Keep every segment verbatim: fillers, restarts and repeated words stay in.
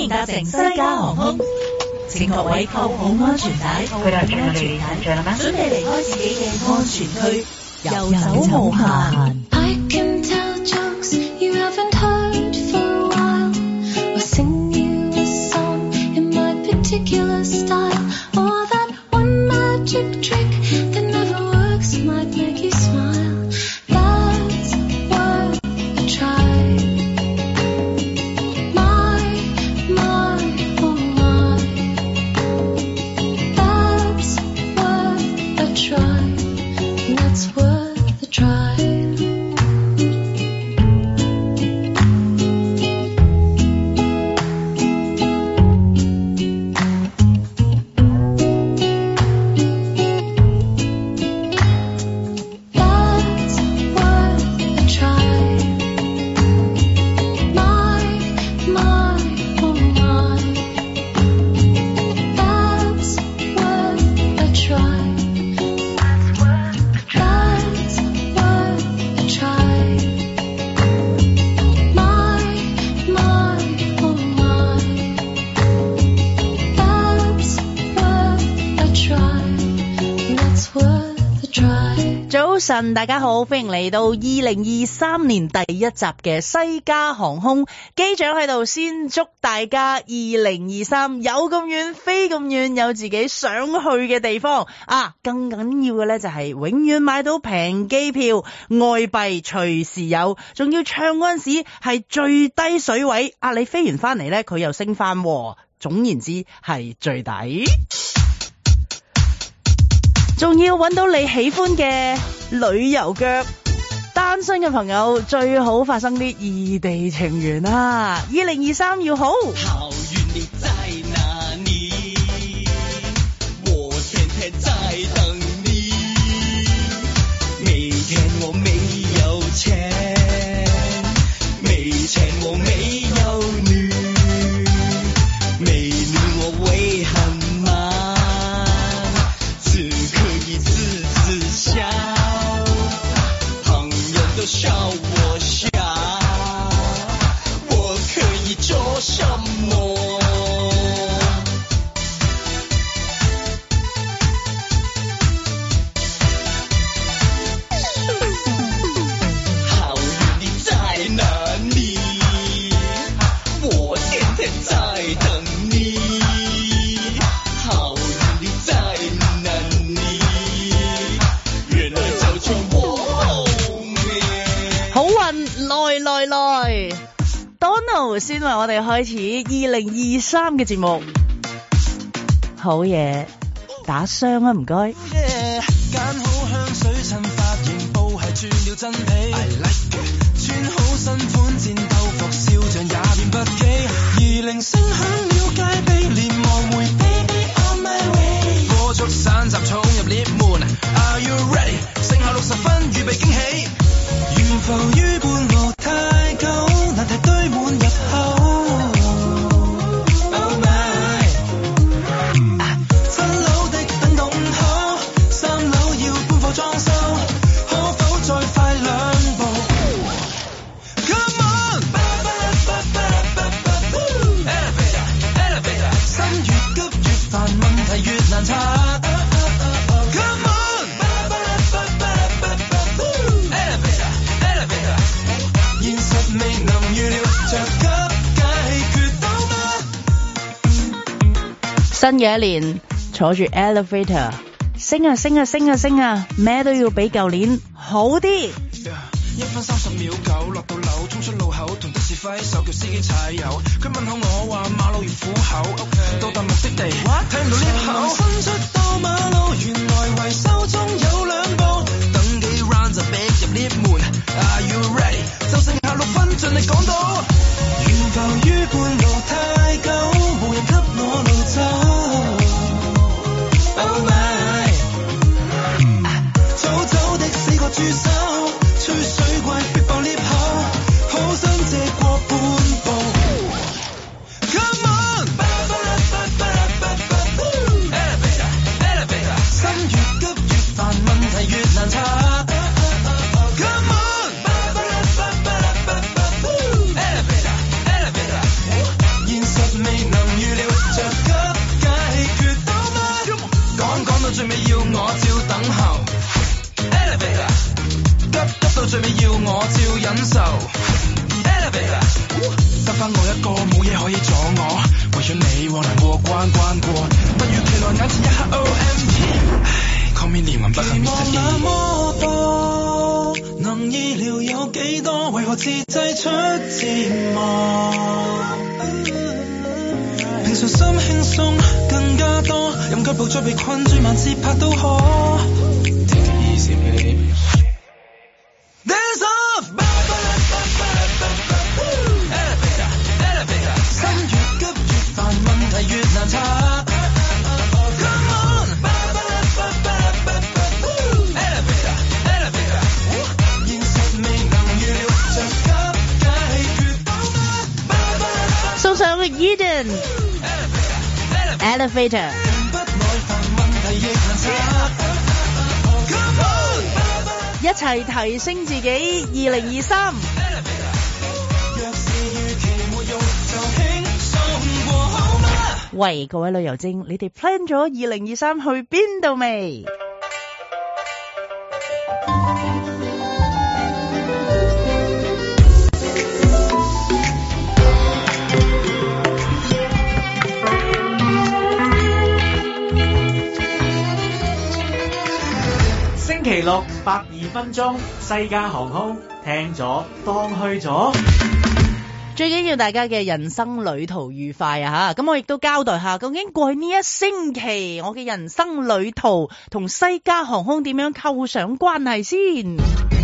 迎搭乘西加航空，請各位扣好安全帶，扣好安全帶，準備離開自己嘅安全區，遊走無限。I can tell jokes you haven't heard for a while, or sing you a song in my particular style, or that one magic trick that never works might make you smile. That's worth a try. My, my, oh my. That's worth a try. That's worth a try.早晨，大家好，歡迎嚟到二零二三年第一集嘅西加航空。機長喺度先祝大家二零二三有咁遠飛咁遠，有自己想去嘅地方啊！更緊要嘅呢就係永遠買到平機票，外幣隨時有，仲要唱嗰陣時係最低水位啊！你飛完翻嚟呢，佢又升翻，總言之係最抵。仲要揾到你喜歡嘅旅遊腳，單身嘅朋友最好發生啲異地情緣啊！二零二三要好。好遠你在哪裡？我天天在等你。每天我沒有錢，沒錢我沒有女，美女我會很忙。笑，朋友都笑我傻，我可以做什麼？好遠你在哪裡？我天天在等你。好遠你在哪裡？好運來來來 Donald 先為我哋開始二零二三嘅節目。好嘢，打傷啊唔該。揀好香水襯髮型，布係轉了真皮。I like it。穿好新款戰鬥服，笑像也變不羈。二鈴聲響了戒備，連忙回 Baby on my way。歌速散集衝入 lift 門 Are you ready？ 剩下六十分，預備驚喜。懸浮於半路太久，難題堆滿入口。Oh my， 七樓的等到五號，三樓要搬貨裝修，可否再快兩步 ？Come on， elevator elevator， 心越急越煩，問題越難拆。Come on， 現實未能預料，着急解決到嗎？新嘅一年，坐住 elevator， 升啊升啊升啊升啊，咩都要比舊年好啲。一分三十秒九，落到樓，衝出路口，同的士揮手叫司機踩油。佢問候我話馬路如虎口， okay. 到達目的地，睇唔到 lift 口，伸出到馬路，原來維修中有兩步，等幾 round 就逼入 lift 門。Are you ready？ 就剩下六分，盡力講到。懸浮於半路太久，無人給我路走。Oh my， 早早的四個豬手，吹水怪逼爆 lift 口，好想借過半步。Come on， elevator elevator， 心越急越煩，問題越難拆。Come on， elevator elevator， 現實關關過，不如期待眼前一刻 O M G。Call me 連環不幸 Mister E。那麼多，能意料有幾多？為何自製出折磨？平常心輕鬆更加多，任腳步再被困住，萬節拍都可。Take it easy, baby. Dance off, elevator, elevator， 心越急越煩，問題越難拆。Come on, elevator, elevator， 現實未能預料，着急解決到嗎？ 送上 Eden Elevator。一齊提升自己，二零二三。喂，各位旅遊精，你哋 plan 咗二零二三去邊度未？ 星期六百二分鐘，西加航空聽咗當去咗。 最緊要大家嘅人生旅途愉快啊！吓，咁我亦都交代下，究竟過去呢一星期我嘅人生旅途同西加航空點樣構上關係先。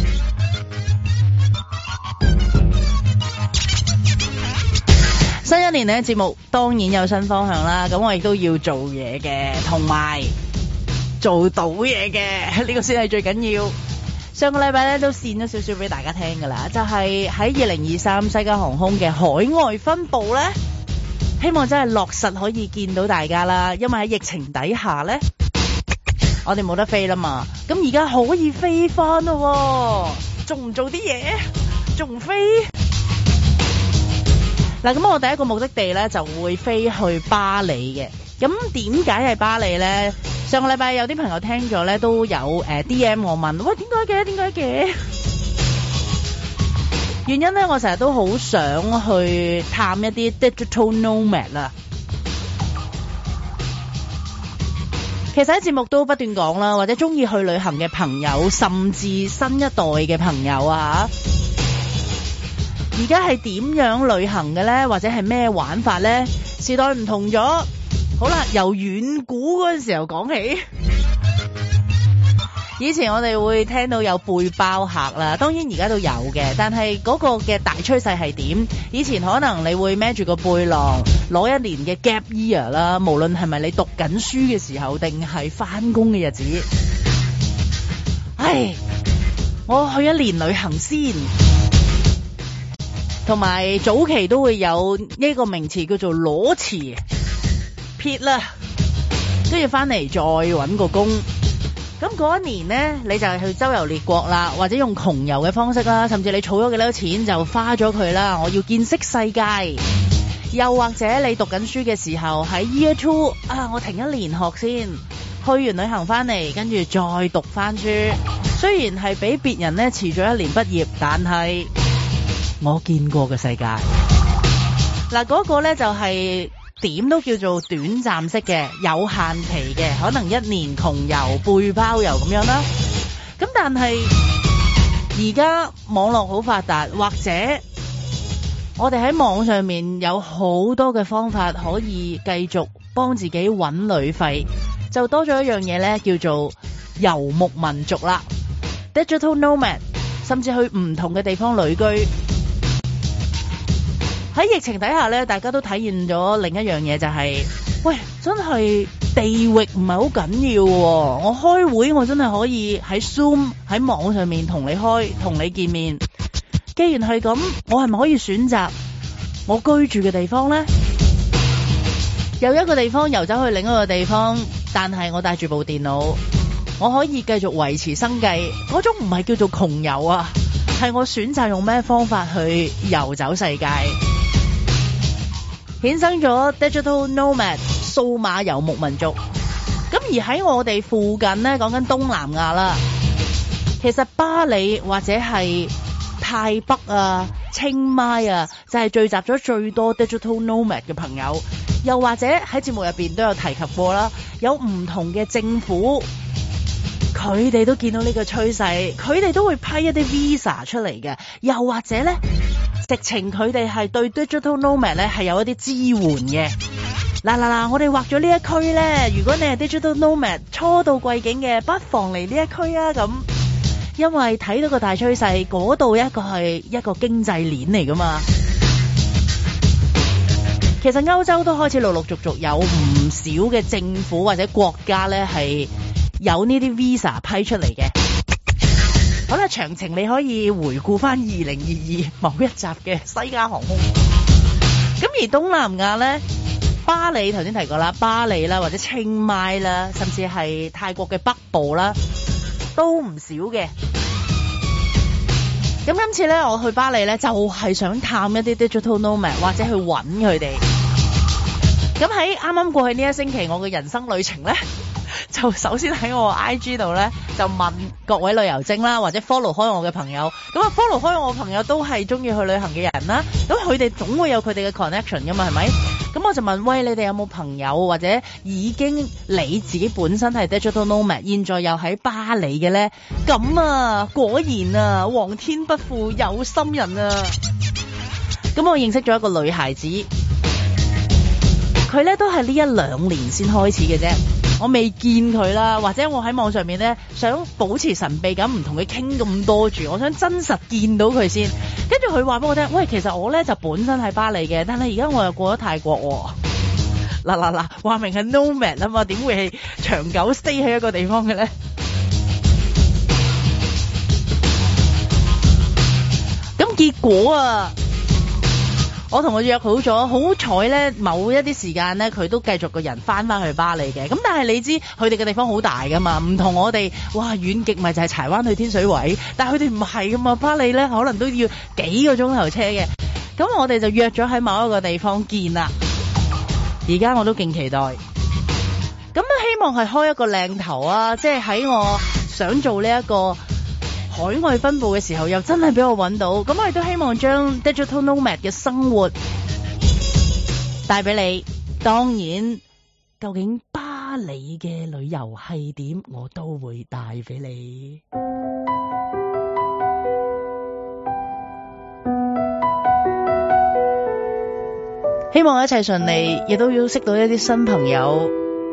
新一年呢，節目當然有新方向啦，咁我亦都要做嘢嘅，同埋做到嘢嘅，呢個先係最緊要。上個禮拜咧都線咗少少俾大家聽噶啦，就係喺二零二三西加航空嘅海外分部咧，希望真係落實可以見到大家啦。因為喺疫情底下咧，我哋冇得飛啦嘛，咁而家可以飛翻咯，做唔做啲嘢？仲唔飛？嗱，咁我第一個目的地咧就會飛去巴黎嘅。咁點解係巴黎咧？上個禮拜有啲朋友聽咗咧，都有誒、呃、D M 我問，喂，點解嘅？點解嘅？原因咧，我成日都好想去探一啲 digital nomad 啦。其實喺節目都不斷講啦，或者中意去旅行嘅朋友，甚至新一代嘅朋友啊，而家係點樣旅行嘅咧？或者係咩玩法咧？時代唔同咗。好啦，由遠古嗰陣時候講起，以前我哋會聽到有背包客啦，當然而家都有嘅，但係嗰個嘅大趨勢係點？以前可能你會孭住個背囊，攞一年嘅 gap year 啦，無論係咪你讀緊書嘅時候，定係翻工嘅日子。唉，我去一年旅行先，同埋早期都會有呢個名詞叫做裸辭。撇啦，都要翻嚟再搵個工。咁嗰一年呢，你就係去周遊列國啦，或者用窮遊嘅方式啦，甚至你儲咗幾多錢就花咗佢啦。我要見識世界。又或者你讀緊書嘅時候喺 year two 啊，我停一年學先，去完旅行翻嚟，跟住再讀翻書。雖然係比別人呢遲咗一年畢業，但係我見過嘅世界。嗱，嗰個呢就係、是。點都叫做短暫式嘅，有限期嘅，可能一年窮遊背包遊咁樣啦。咁但係而家網絡好發達，或者我哋喺網上面有好多嘅方法可以繼續幫自己搵旅費，就多咗一樣嘢咧，叫做遊牧民族啦 ，digital nomad， 甚至去唔同嘅地方旅居。喺疫情底下咧，大家都體驗咗另一樣嘢，就係、是，喂，真係地域唔係好緊要喎。我開會我真係可以喺 Zoom 喺網上面同你開，同你見面。既然係咁，我係咪可以選擇我居住嘅地方呢？由一個地方遊走去另一個地方，但係我帶住部電腦，我可以繼續維持生計。嗰種唔係叫做窮遊啊，係我選擇用咩方法去遊走世界。衍生咗 digital nomad 數碼遊牧民族。咁而喺我哋附近呢，講緊東南亞啦，其實巴黎或者係泰北啊、 清邁啊，就係聚集咗最多 digital nomad 嘅朋友。又或者喺節目入邊都有提及過啦，有唔同嘅政府，佢哋都見到呢個趨勢，佢哋都會批一啲 visa 出嚟嘅。又或者咧，直情佢哋係對 digital nomad 咧係有一啲支援嘅。嗱嗱嗱，我哋畫咗呢一區咧，如果你係 digital nomad 初到貴境嘅，不妨嚟呢一區啊咁。因為睇到個大趨勢，嗰度一個係一個經濟鏈嚟噶嘛。其實歐洲都開始陸陸續續有唔少嘅政府或者國家咧係有呢啲 visa 批出嚟嘅。好啦，詳情你可以回顧翻二零二二某一集嘅西加航空。咁而東南亞咧，巴里頭先提過啦，巴里啦或者清邁啦，甚至係泰國嘅北部啦，都唔少嘅。咁今次咧，我去巴里咧，就係想探一啲 digital nomad 或者去揾佢哋。咁喺啱啱過去呢一星期，我嘅人生旅程咧，就首先喺我 I G 度咧，就問各位旅遊精啦，或者 follow 開我嘅朋友。咁啊 follow 開我嘅朋友都係中意去旅行嘅人啦。咁佢哋總會有佢哋嘅 connection 噶嘛，係咪？咁我就問，喂，你哋有冇朋友或者已經你自己本身係 digital nomad，現在又喺巴里嘅咧？咁啊，果然啊，皇天不負有心人啊！咁我認識咗一個女孩子，佢咧都係呢一兩年先開始嘅啫。我未見佢啦，或者我喺網上面咧想保持神秘感，唔同佢傾咁多住，我想真實見到佢先。跟住佢話俾我聽，喂，其實我咧就本身係巴里嘅，但係而家我又過咗泰國喎。嗱嗱嗱，話明係 nomad 啊嘛，點會係長久 stay 喺一個地方嘅咧？咁結果啊，我同佢約好咗，好彩咧，某一啲時間咧，佢都繼續個人翻翻去巴里嘅。咁但係你知佢哋嘅地方好大噶嘛，唔同我哋，哇，遠極咪就係柴灣去天水圍，但係佢哋唔係噶嘛，巴里咧可能都要幾個鐘頭車嘅。咁我哋就約咗喺某一個地方見啦。而家我都勁期待。咁希望係開一個靚頭啊，即係喺我想做呢一個海外分佈嘅時候，又真係俾我揾到。咁我亦都希望將 digital nomad 嘅生活帶俾你。當然，究竟巴里嘅旅遊係點，我都會帶俾你。希望一切順利，亦都要識到一啲新朋友。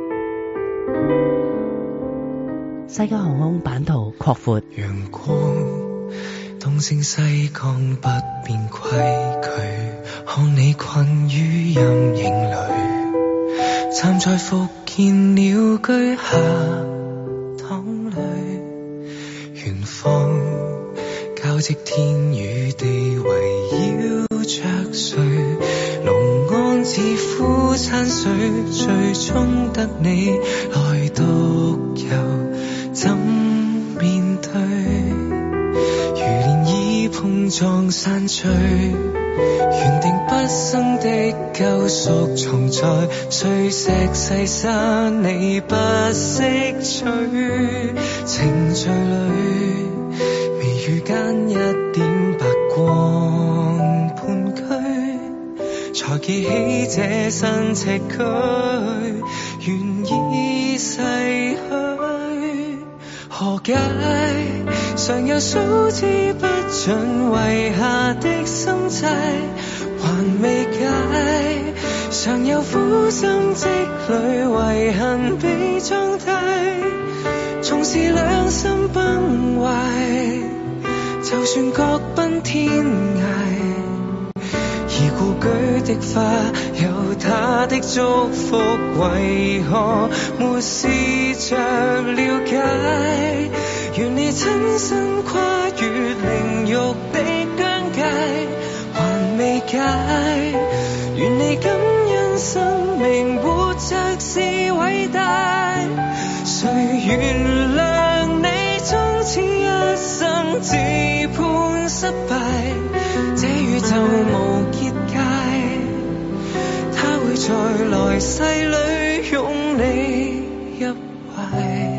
西加航空版圖擴闊， 陽光東升西降不變規矩，看你困於陰影裡，站在復建鳥居下淌淚，遠方交織天與地圍繞着誰，龍安寺夫餐水，最終得你來獨遊。怎面對？如漣漪碰撞散聚，原定畢生的救贖藏在碎石細沙，你不識取。程序裡微雨間一點白光盤踞，才記起這身赤軀，願意逝去。何解常有數之不盡遺下的心債，還未解，常有苦心積累遺恨被裝低，縱是兩心崩壞，就算各奔天涯，而故居的花有他的祝福，為何沒試着了解？願你親身跨越靈肉的疆界，還未解。願你感恩生命活着是偉大，誰原諒你終此一生自判失敗？這宇宙無結界，他會在來世裡擁你入懷。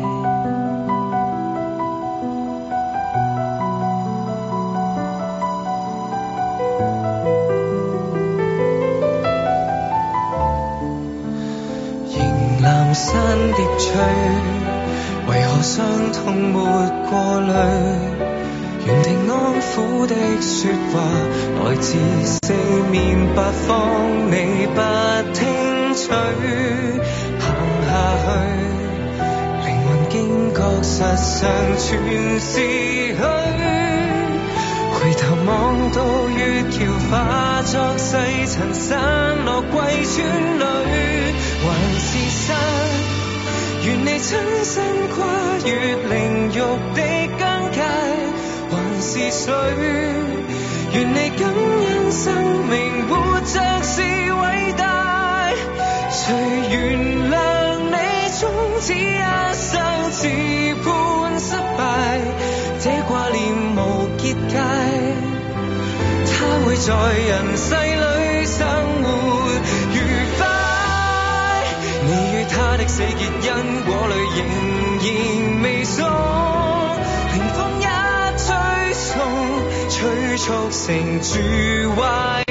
群山疊翠，為何傷痛沒過濾？原地安撫的說話，來自四面八方，你不聽取。行下去，靈魂驚覺實上全是虛。回頭望到月橋化作細塵散落貴村裏，還是山，願你親身跨越靈肉的疆界，還是水，願你感恩生命活着是偉大，誰原諒你終此一生自判失敗，這掛念無結界，他會在人世裏生活愉快。你與他的死結因果裏仍然未鬆，凌風一吹送，催促成住壞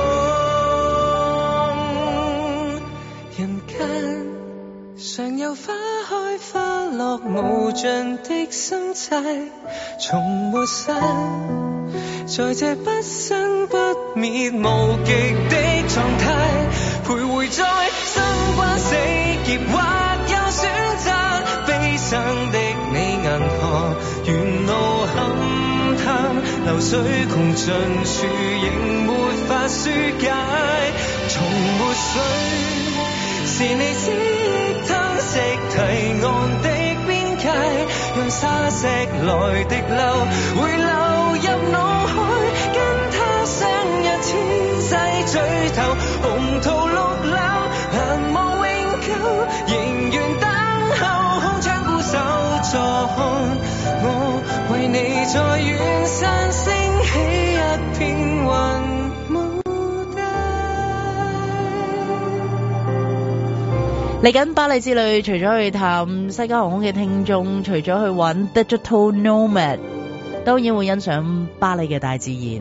空。人間常有花開花落無盡的心態，從沒散，在這不生不滅無極的狀態，徘徊在生關死劫，或有選擇悲傷的你銀河，沿路勘探流水窮盡處仍沒法紓解，從沒水是你知憶吞食堤岸的邊界，讓沙石來滴漏，會流入腦海，跟他相約千世聚頭，紅桃綠柳難忘永久，仍願等候空窗孤守坐看，我為你在遠山升起一片雲。 嚟緊巴黎之旅，除咗去探西加航空嘅聽眾，除咗去揾 Digital Nomad， 當然會欣賞巴黎嘅大自然，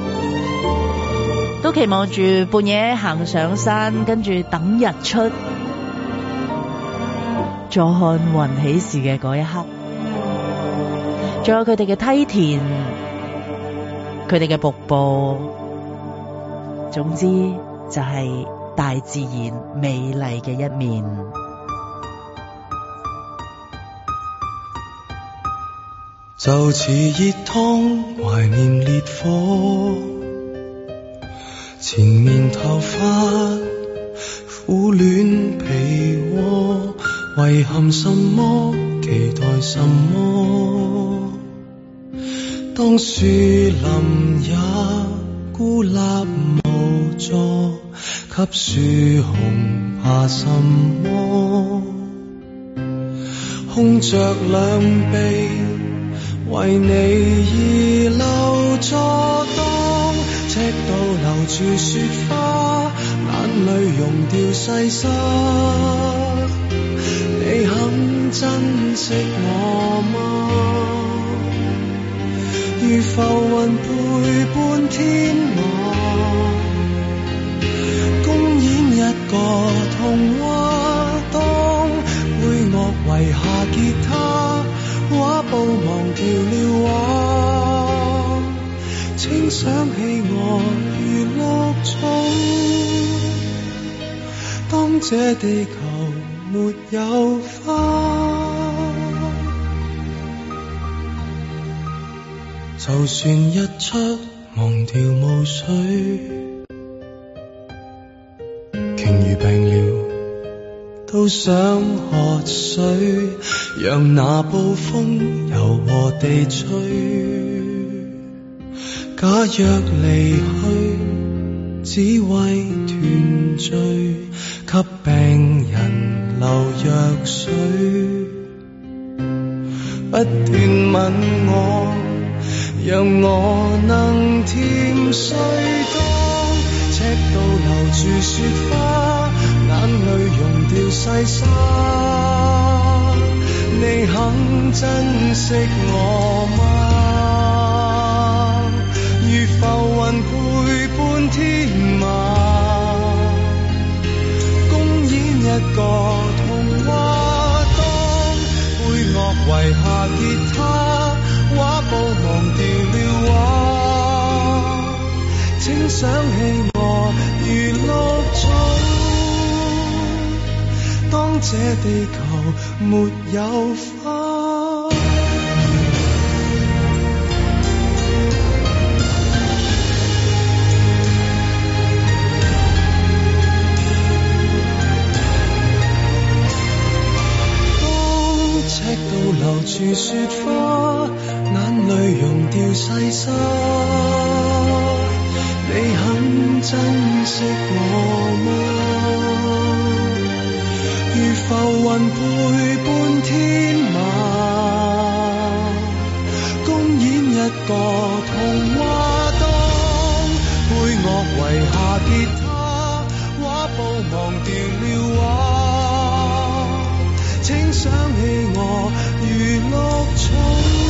都期望住半夜行上山，跟住等日出，再看雲起時嘅嗰一刻，仲有佢哋嘅梯田，佢哋嘅瀑布，總之就係大自然美麗嘅一面。 就似熱湯懷念烈火，纏綿頭髮苦戀被窩，遺憾什麼期待什麼，當樹林也孤立無助，給樹熊怕什麼，空着兩臂為你而留座，當赤道留住雪花，眼淚溶掉細沙，你肯珍惜我嗎？如浮雲陪伴天馬，公演一個童話，當配樂遺下吉他，畫布忘掉了畫，請想起我如綠草，當這地球沒有花，就算日出忘掉霧水，鯨魚病了都想喝水，讓那暴風柔和地吹。假若離去，只為團聚，給病人留藥水，不斷問我，讓我能甜睡。當赤道留住雪花，眼淚溶掉細沙，你肯珍惜我嗎？如浮雲陪伴天馬，公演一個童話， 想起我如綠草，當這地球沒有花。當赤道留住雪花，眼淚溶掉細沙，你很珍惜我嗎？如浮雲陪伴天馬，公演一個童話。當配樂遺下吉他，畫布忘掉了畫，請想起我如綠草。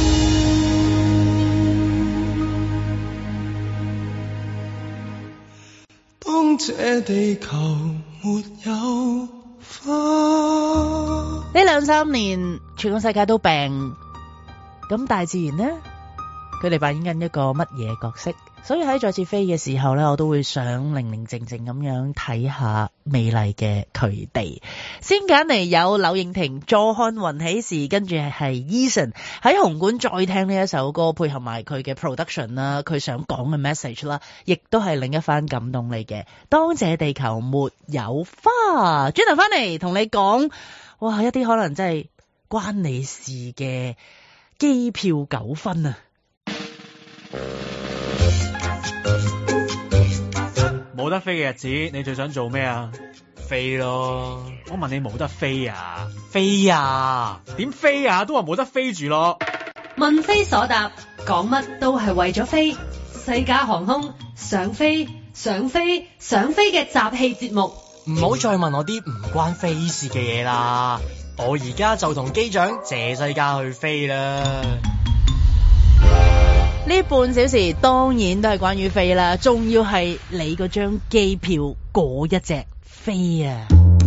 當這地球沒有花。 呢兩三年全個世界都病，咁大自然呢？佢哋扮演緊一個乜嘢角色？所以喺再次飛嘅時候呢，我都會想寧寧靜靜咁樣睇下美麗嘅佢哋。先揀嚟有柳應廷坐看雲起時，跟住係 Eason 喺紅館再聽呢一首歌，配合埋佢嘅 production 啦，佢想講嘅 message 啦，亦都係另一番感動嚟嘅。當這地球沒有花，轉頭翻嚟同你講，哇，一啲可能真係關你事嘅機票糾紛啊！ 冇得飛嘅日子，你最想做咩啊？飛咯！我問你冇得飛啊？飛啊？點飛啊？都話冇得飛住咯。 問非所答，講乜都係為咗飛。西加航空想飛想飛想飛嘅集氣節目。 唔好再問我啲唔關飛事嘅嘢啦，我而家就同機長謝西加去飛啦。 呢半小時當然都係關於飛啦，仲要係你嗰張機票嗰一隻飛啊！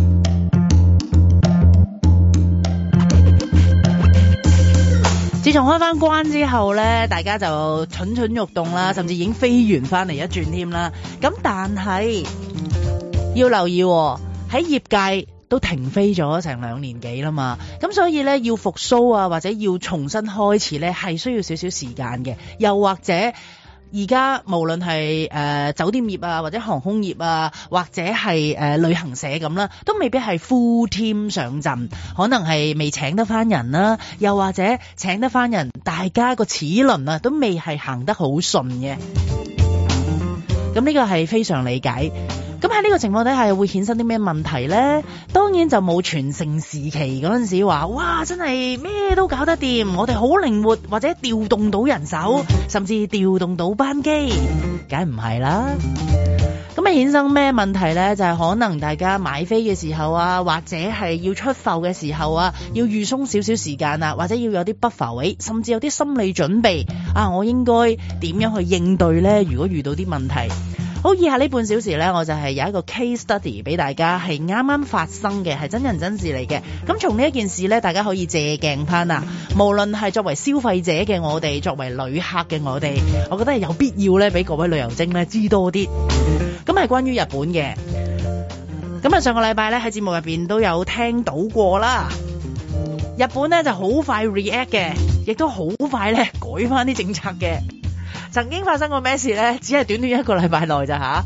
自從開翻關之後呢，大家就蠢蠢欲動啦，甚至已經飛完翻嚟一轉添啦。咁但係要留意喎，喺業界都停飛咗成兩年幾啦嘛，咁所以咧要復甦啊，或者要重新開始咧，係需要少少時間嘅。又或者而家無論係誒、呃、酒店業啊，或者航空業啊，或者係誒、呃、旅行社咁啦，都未必係 full team 上陣，可能係未請得翻人啦，又或者請得翻人，大家個齒輪啊都未係行得好順嘅。咁呢個係非常理解。咁喺呢個情況底下會衍生啲咩問題呢？當然就冇全盛時期嗰陣時話，哇真係咩都搞得掂，我哋好靈活，或者調動到人手，甚至調動到班機，梗係唔係啦。咁啊衍生咩問題呢？就係、是、可能大家買飛嘅時候啊，或者係要出埠嘅時候啊，要預鬆少少時間啊，或者要有啲 buffer位，甚至有啲心理準備啊，我應該點樣去應對呢？如果遇到啲問題。好，以下呢半小時呢，我就係有一個 case study 俾大家，係啱啱發生嘅，係真人真事嚟嘅。咁從呢一件事呢，大家可以借鏡翻啊。無論係作為消費者嘅我哋，作為旅客嘅我哋，我覺得係有必要呢，俾各位旅遊精呢知多啲。咁係關於日本嘅。咁啊，上個禮拜呢，喺節目入邊都有聽到過啦。日本呢就好快 react 嘅，亦都好快呢改翻啲政策嘅。曾經發生過咩事呢？只係短短一個禮拜內咋吓？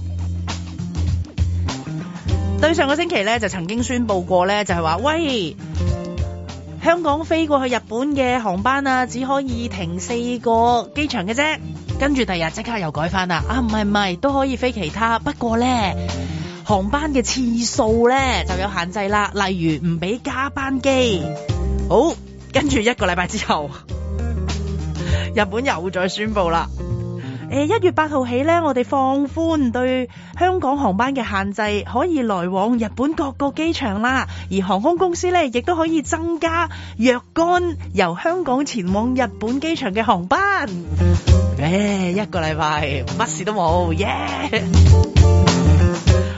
對上個星期呢，就曾經宣布過呢，就係話喂，香港飛過去日本嘅航班啊，只可以停四個機場嘅啫。跟住第日即刻又改翻啦，啊唔係唔係都可以飛其他，不過呢，航班嘅次數呢就有限制啦，例如唔俾加班機。好，跟住一個禮拜之後，日本又再宣布啦。誒，一月八號起咧，我哋放寬對香港航班嘅限制，可以來往日本各個機場啦。而航空公司咧，亦都可以增加若干由香港前往日本機場嘅航班。誒，一個禮拜乜事都冇，耶！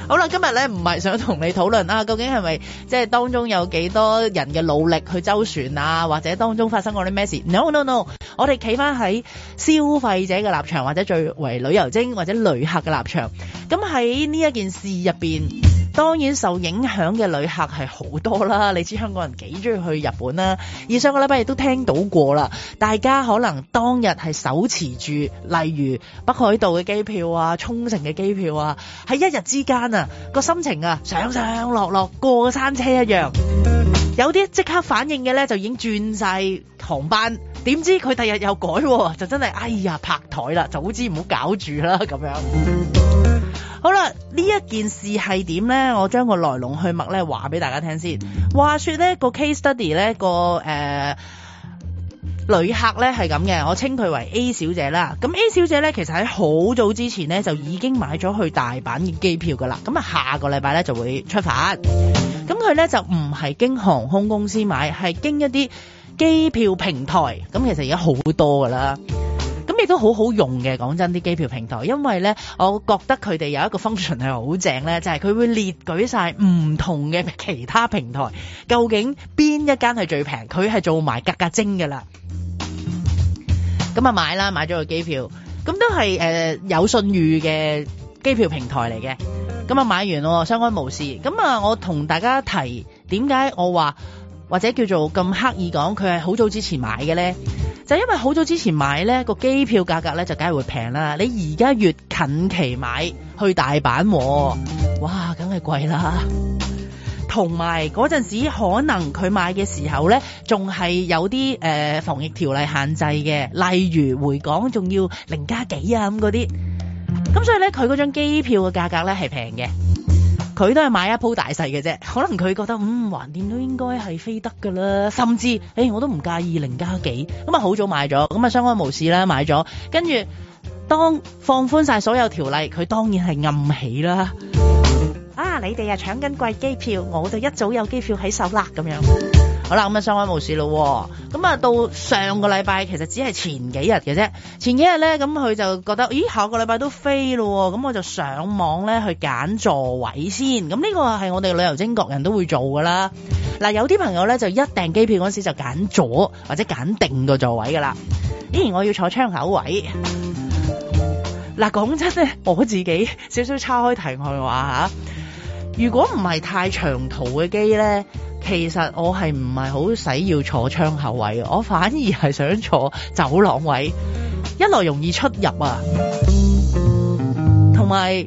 好啦，今日咧唔係想同你討論啊，究竟係咪即係當中有幾多人嘅努力去周旋啊，或者當中發生過啲咩事 ？No no no，我哋企翻喺消費者嘅立場，或者最為旅遊精或者旅客嘅立場。咁喺呢一件事入邊，當然受影響嘅旅客係好多啦。你知香港人幾中意去日本啦，而上個禮拜亦都聽到過啦，大家可能當日係手持住，例如北海道嘅機票啊、沖繩嘅機票啊，喺一日之間啊，個心情啊上上落落過個山車一樣。有啲即刻反應嘅咧，就已經轉晒航班，點知佢第日又改，就真係哎呀拍台啦，早知唔好搞住啦咁樣。好啦，呢一件事係點咧？我將個來龍去脈咧話俾大家聽先。話說咧個 case study 咧個誒、呃、旅客咧係咁嘅，我稱佢為 A 小姐啦。咁 A 小姐咧其實喺好早之前咧就已經買咗去大阪嘅機票噶啦。咁啊下個禮拜咧就會出發。咁佢咧就唔係經航空公司買，係經一啲機票平台。咁其實而家好多噶啦。咁亦都好好用嘅，講真啲機票平台，因為咧，我覺得佢哋有一個 function 係好正咧，就係、是、佢會列舉晒唔同嘅其他平台，究竟邊一間係最平，佢係做埋格格精㗎啦。咁啊買啦，買咗個機票，咁都係誒、呃、有信譽嘅機票平台嚟嘅。咁啊買完咯，相安無事。咁啊，我同大家提點解我話或者叫做咁刻意講佢係好早之前買嘅咧？就因為好早之前買咧，個機票價格咧就梗係會平啦。你而家越近期買去大阪，哇，梗係貴啦。同埋嗰陣時可能佢買嘅時候咧，仲係有啲誒、呃、防疫條例限制嘅，例如回港仲要零加幾啊咁嗰啲。咁所以咧，佢嗰張機票嘅價格咧係平嘅。佢都係買一鋪大細嘅啫，可能佢覺得嗯橫掂都應該係飛得㗎啦，甚至誒、欸、我都唔介意零加幾，咁啊好早買咗，咁啊相安無事啦買咗，跟住當放寬晒所有條例，佢當然係暗喜啦。啊你哋啊搶緊貴機票，我就一早有機票喺手啦咁樣。好啦，咁啊相安無事咯。咁啊到上個禮拜其實只係前幾日嘅啫。前幾日咧，咁佢就覺得，咦下個禮拜都飛咯。咁我就上網咧去揀座位先。咁呢個係我哋旅遊精各人都會做噶啦。嗱，有啲朋友咧就一訂機票嗰時就揀咗或者揀定個座位噶啦。咦，我要坐窗口位。嗱，講真咧，我自己少少岔開題外話吓。如果唔係太長途嘅機咧，其實我係唔係好使要坐窗口位，我反而係想坐走廊位，一來容易出入啊，同埋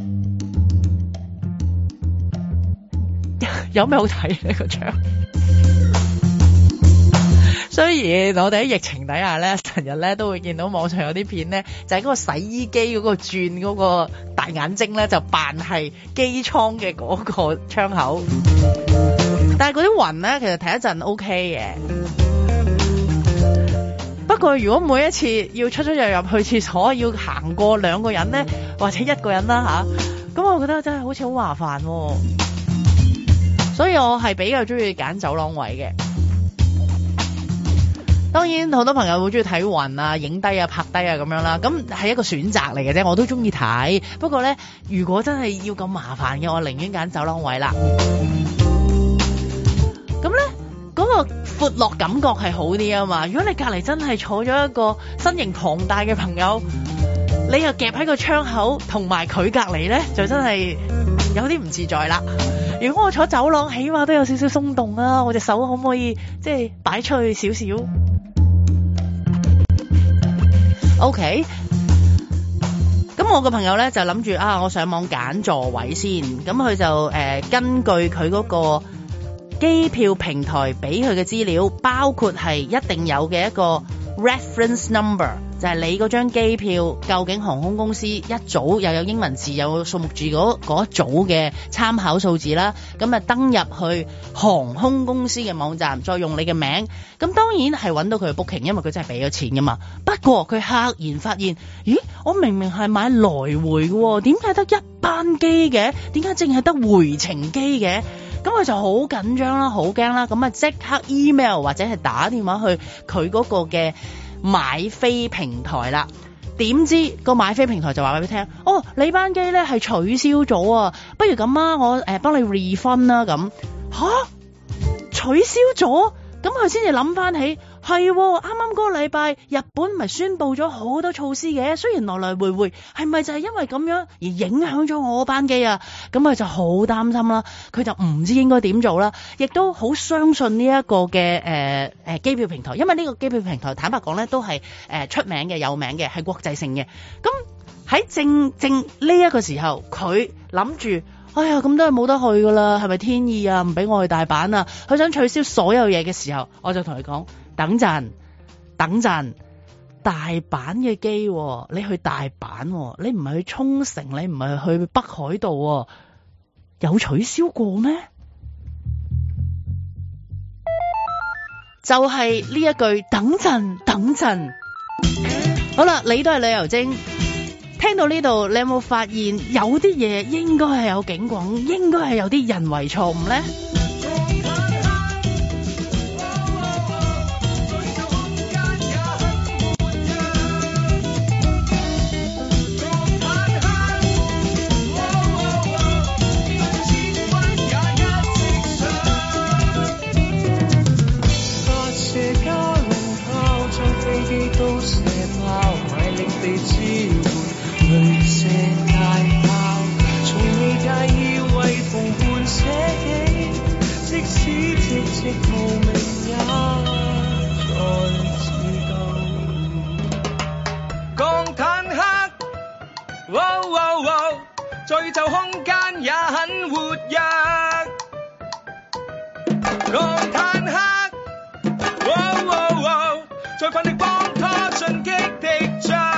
有咩好睇呢個窗？雖然我哋喺疫情底下咧，成日咧都會見到網上有啲片咧，就係、是、嗰個洗衣機嗰個轉嗰個大眼睛咧，就扮係機艙嘅嗰個窗口。但係嗰啲雲咧，其實睇一陣 O K 嘅。不過如果每一次要出出入入去廁所，要行過兩個人咧，或者一個人啦吓，咁我覺得真係好似好麻煩喎。所以我係比較中意揀走廊位嘅。當然好多朋友好中意睇雲啊、影低啊、拍低啊咁樣啦，咁係一個選擇嚟嘅啫，我都中意睇。不過咧，如果真係要咁麻煩嘅，我寧願揀走廊位啦。咁咧，嗰個闊落感覺係好啲啊嘛。如果你隔籬真係坐咗一個身形龐大嘅朋友，你又夾喺個窗口，同埋佢隔籬咧，就真係有啲唔自在啦。如果我坐走廊，起碼都有少少鬆動啊，我隻手可唔可以即係擺出去少少？OK，咁我個朋友咧就諗住啊，我上網揀座位先，咁佢就誒、呃、根據佢嗰個機票平台俾佢嘅資料，包括係一定有嘅一個 reference number，就係你嗰張機票究竟航空公司一組又有英文字有數目字嗰嗰一組嘅參考數字啦，咁啊登入去航空公司嘅網站，再用你嘅名，咁當然係揾到佢嘅 booking，因為佢真係俾咗錢噶嘛。不過佢赫然發現，咦，我明明係買來回嘅，點解得一班機嘅？點解淨係得回程機嘅？咁佢就好緊張啦，好驚啦，咁啊即刻 email 或者係打電話去佢嗰個嘅買飛平台啦。 點知個買飛平台就話俾你聽，哦，你班機咧係取消咗啊，不如咁啊，我誒幫你 refund 啦咁。吓？取消咗？咁佢先至諗翻起，係啱啱嗰個禮拜日本咪宣布咗好多措施嘅，雖然來來回回，係咪就係因為咁樣而影響咗我班機啊？咁佢就好擔心啦，佢就唔知應該點做啦，亦都好相信呢一個嘅誒誒機票平台，因為呢個機票平台坦白講咧都係誒、呃、出名嘅、有名嘅，係國際性嘅。咁喺正正呢一個時候，佢諗住。哎呀，咁都係冇得去噶啦，係咪天意啊？唔俾我去大阪啊！佢想取消所有嘢嘅時候，我就同佢講：等陣，等陣，大阪嘅機，你去大阪，你唔係去沖繩，你唔係去北海道，有取消過咩？就係呢一句：等陣，等陣。好啦，你都係旅遊精。聽到呢度，你有冇發現有啲嘢應該係有警廣，應該係有啲人為錯誤呢？ 雷射大炮，從未介意為同伴捨己，即使寂寂無名也在自救。鋼坦克，喔喔喔，在宇宙空間也很活躍。鋼坦克，喔喔喔，在奮力幫他進擊敵將。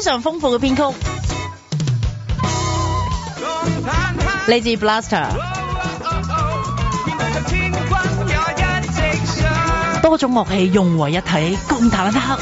常豐富嘅編曲，嚟自 Blaster。多種樂器融為一體，共彈一刻。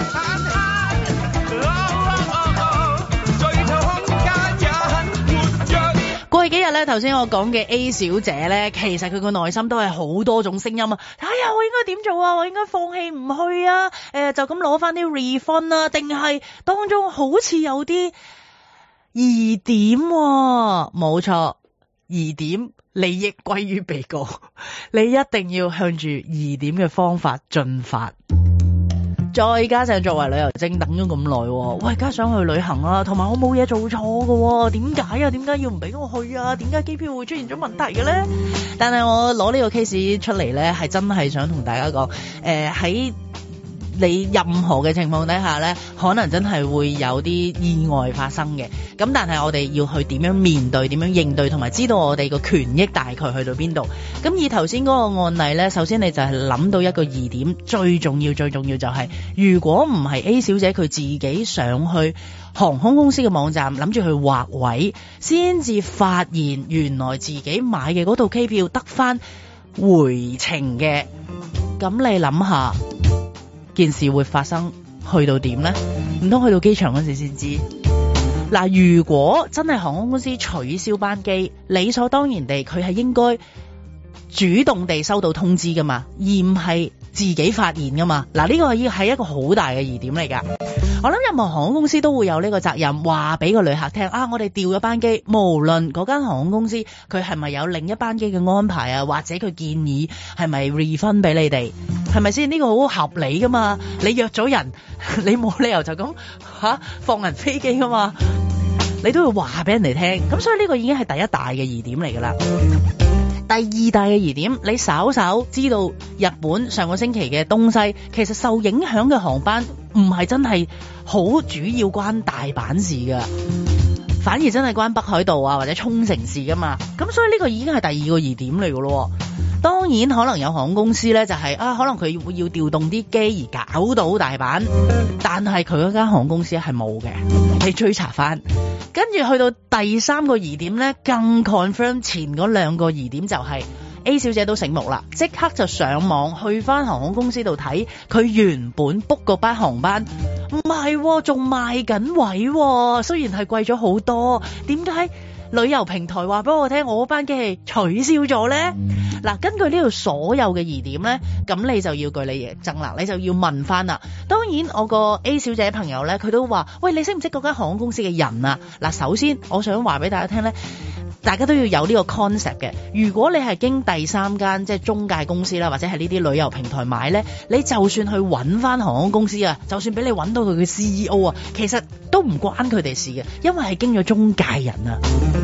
過去幾日咧，頭先我講嘅 A 小姐咧，其實佢個內心都係好多種聲音啊！哎呀，我應該點做啊？我應該放棄唔去啊？誒、呃，就咁攞翻啲 refund 啊？定係當中好似有啲疑點、啊？冇錯，疑點利益歸於被告，你一定要向住疑點嘅方法進發。再加上作為旅遊精等咗咁耐，我而家想去旅行啊，同埋我冇嘢做錯嘅，點解啊？點解要唔俾我去啊？點解機票會出現咗問題嘅咧？但係我攞呢個 case 出嚟咧，係真係想同大家講，誒、呃、喺你任何嘅情況底下咧，可能真係會有啲意外發生嘅。咁但係我哋要去點樣面對、點樣應對，同埋知道我哋個權益大概去到邊度。咁以頭先嗰個案例咧，首先你就係諗到一個疑點，最重要、最重要就係、是，如果唔係 A 小姐佢自己上去航空公司嘅網站，諗住去劃位，先至發現原來自己買嘅嗰套機票得返回程嘅。咁你諗下，件事會發生去到點呢？唔通去到機場嗰時先知？嗱，如果真係航空公司取消班機，理所當然地佢係應該主動地收到通知噶嘛，而唔係自己發現噶嘛。嗱，呢個係一個好大嘅疑點嚟噶。我諗任何航空公司都會有呢個責任，話俾個旅客聽啊，我哋調咗班機，無論嗰間航空公司佢係咪有另一班機嘅安排啊，或者佢建議係咪 refund 俾你哋，係咪先？呢個好合理噶嘛。你約咗人，你冇理由就咁吓、啊、放人飛機噶嘛，你都要話俾人哋聽。咁所以呢個已經係第一大嘅疑點嚟噶啦。第二大嘅疑點，你稍稍知道日本上個星期嘅東西，其實受影響嘅航班唔係真係好主要關大阪事噶，反而真係關北海道啊或者沖繩事噶嘛。咁所以呢個已經係第二個疑點嚟噶咯。當然可能有航空公司咧就係、是、啊，可能佢要要調動啲機而搞到大阪，但係佢嗰間航空公司係冇嘅，你追查翻。跟住去到第三個疑點咧，更 confirm 前嗰兩個疑點，就係 A 小姐都醒目啦，即刻就上網去翻航空公司度睇佢原本 book 嗰班航班，唔係仲賣緊位，雖然係貴咗好多，點解旅遊平台話俾我聽我班機係取消咗呢？嗱，根據呢度所有嘅疑點呢，咁你就要據理力爭啦，你就要問翻啦。當然我個 A 小姐朋友呢，佢都話，喂，你識唔識嗰間航空公司嘅人啊？嗱，首先我想話俾大家聽呢，大家都要有呢個 concept 嘅。如果你係經第三間即係中介公司啦，或者係呢啲旅遊平台買呢，你就算去揾翻航空公司啊，就算俾你揾到佢嘅 C E O 啊，其實都唔關佢哋事嘅，因為係經咗中介人啊。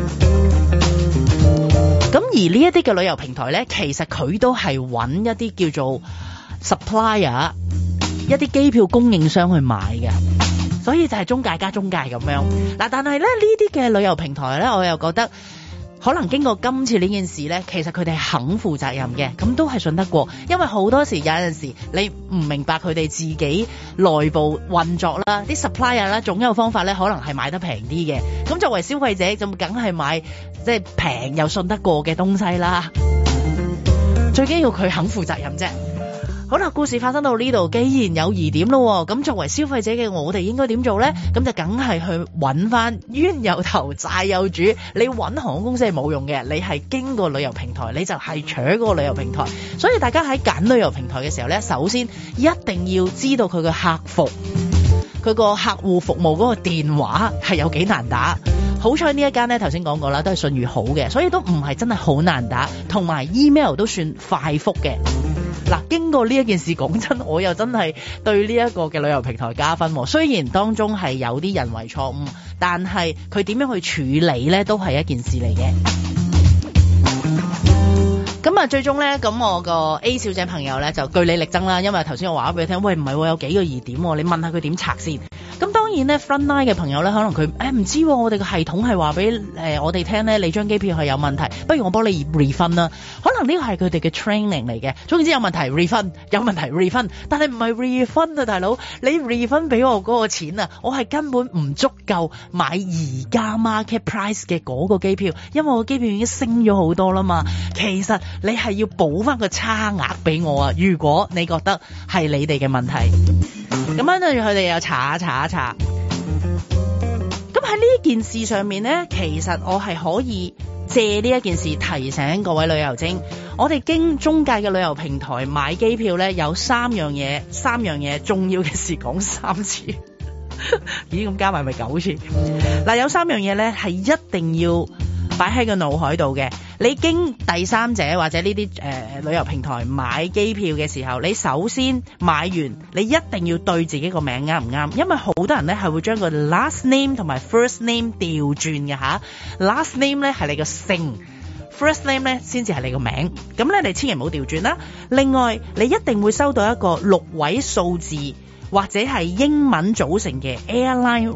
咁而呢一啲嘅旅遊平台呢，其實佢都係揾一啲叫做 supplier， 一啲機票供應商去買嘅，所以就係中介加中介咁樣。嗱，但係咧呢啲嘅旅遊平台呢，我又覺得可能經過今次呢件事呢，其實佢哋係肯負責任嘅，咁都係信得過。因為好多時有陣時你唔明白佢哋自己內部運作啦，啲 supplier 啦，總有方法呢，可能係買得平啲嘅。咁作為消費者，就梗係買即係平又信得過嘅東西啦。最緊要佢肯負責任啫。好啦，故事發生到呢度，既然有疑點咯，咁作為消費者嘅我哋應該點做呢？咁就梗係去揾翻冤有頭債有主。你揾航空公司係冇用嘅，你係經過旅遊平台，你就係搶嗰個旅遊平台。所以大家喺揀旅遊平台嘅時候呢，首先一定要知道佢嘅客服，佢個客戶服務嗰個電話係有幾難打。好彩呢一間呢，頭先講過啦，都係信譽好嘅，所以都唔係真係好難打，同埋 email 都算快覆嘅。嗱，經過呢一件事，講真，我又真係對呢一個嘅旅遊平台加分。雖然當中係有啲人為錯誤，但係佢點樣去處理呢，都係一件事嚟嘅。咁啊，最終呢，咁我個 A 小姐朋友呢，就據理力爭啦，因為頭先我話咗俾佢聽，喂，唔係喎，有幾個疑點喎，你問下佢點拆先。 咁當然咧 frontline 嘅朋友咧，可能佢誒唔知我哋個系統係話俾誒我哋聽咧，你張機票係有問題，不如我幫你 refund 啦。可能呢個係佢哋嘅 training 嚟嘅，總之有問題 refund， 有問題 refund， 但係唔係 refund 啊，大佬，你 refund 俾我嗰個錢啊，我係根本唔足夠買而家 market price 嘅嗰個機票，因為我機票已經升咗好多啦嘛。其實你係要補翻個差額俾我啊，如果你覺得係你哋嘅問題。咁樣跟住佢哋又查一查一查。咁喺呢件事上面呢，其實我係可以借呢一件事提醒各位旅遊精，我哋經中介嘅旅遊平台買機票呢，有三樣嘢，三樣嘢重要嘅事講三次。咦，咁加埋咪九次？嗱，有三樣嘢呢係一定要擺喺個腦海度嘅。你經第三者或者呢啲誒旅遊平台買機票嘅時候，你首先買完，你一定要對自己個名啱唔啱，因為好多人咧係會將個 last name 同埋 first name 調轉嘅吓。last name 咧係你個姓， first name 咧先至係你個名，咁咧你千祈唔好調轉啦。另外，你一定會收到一個六位數字或者係英文組成嘅 airline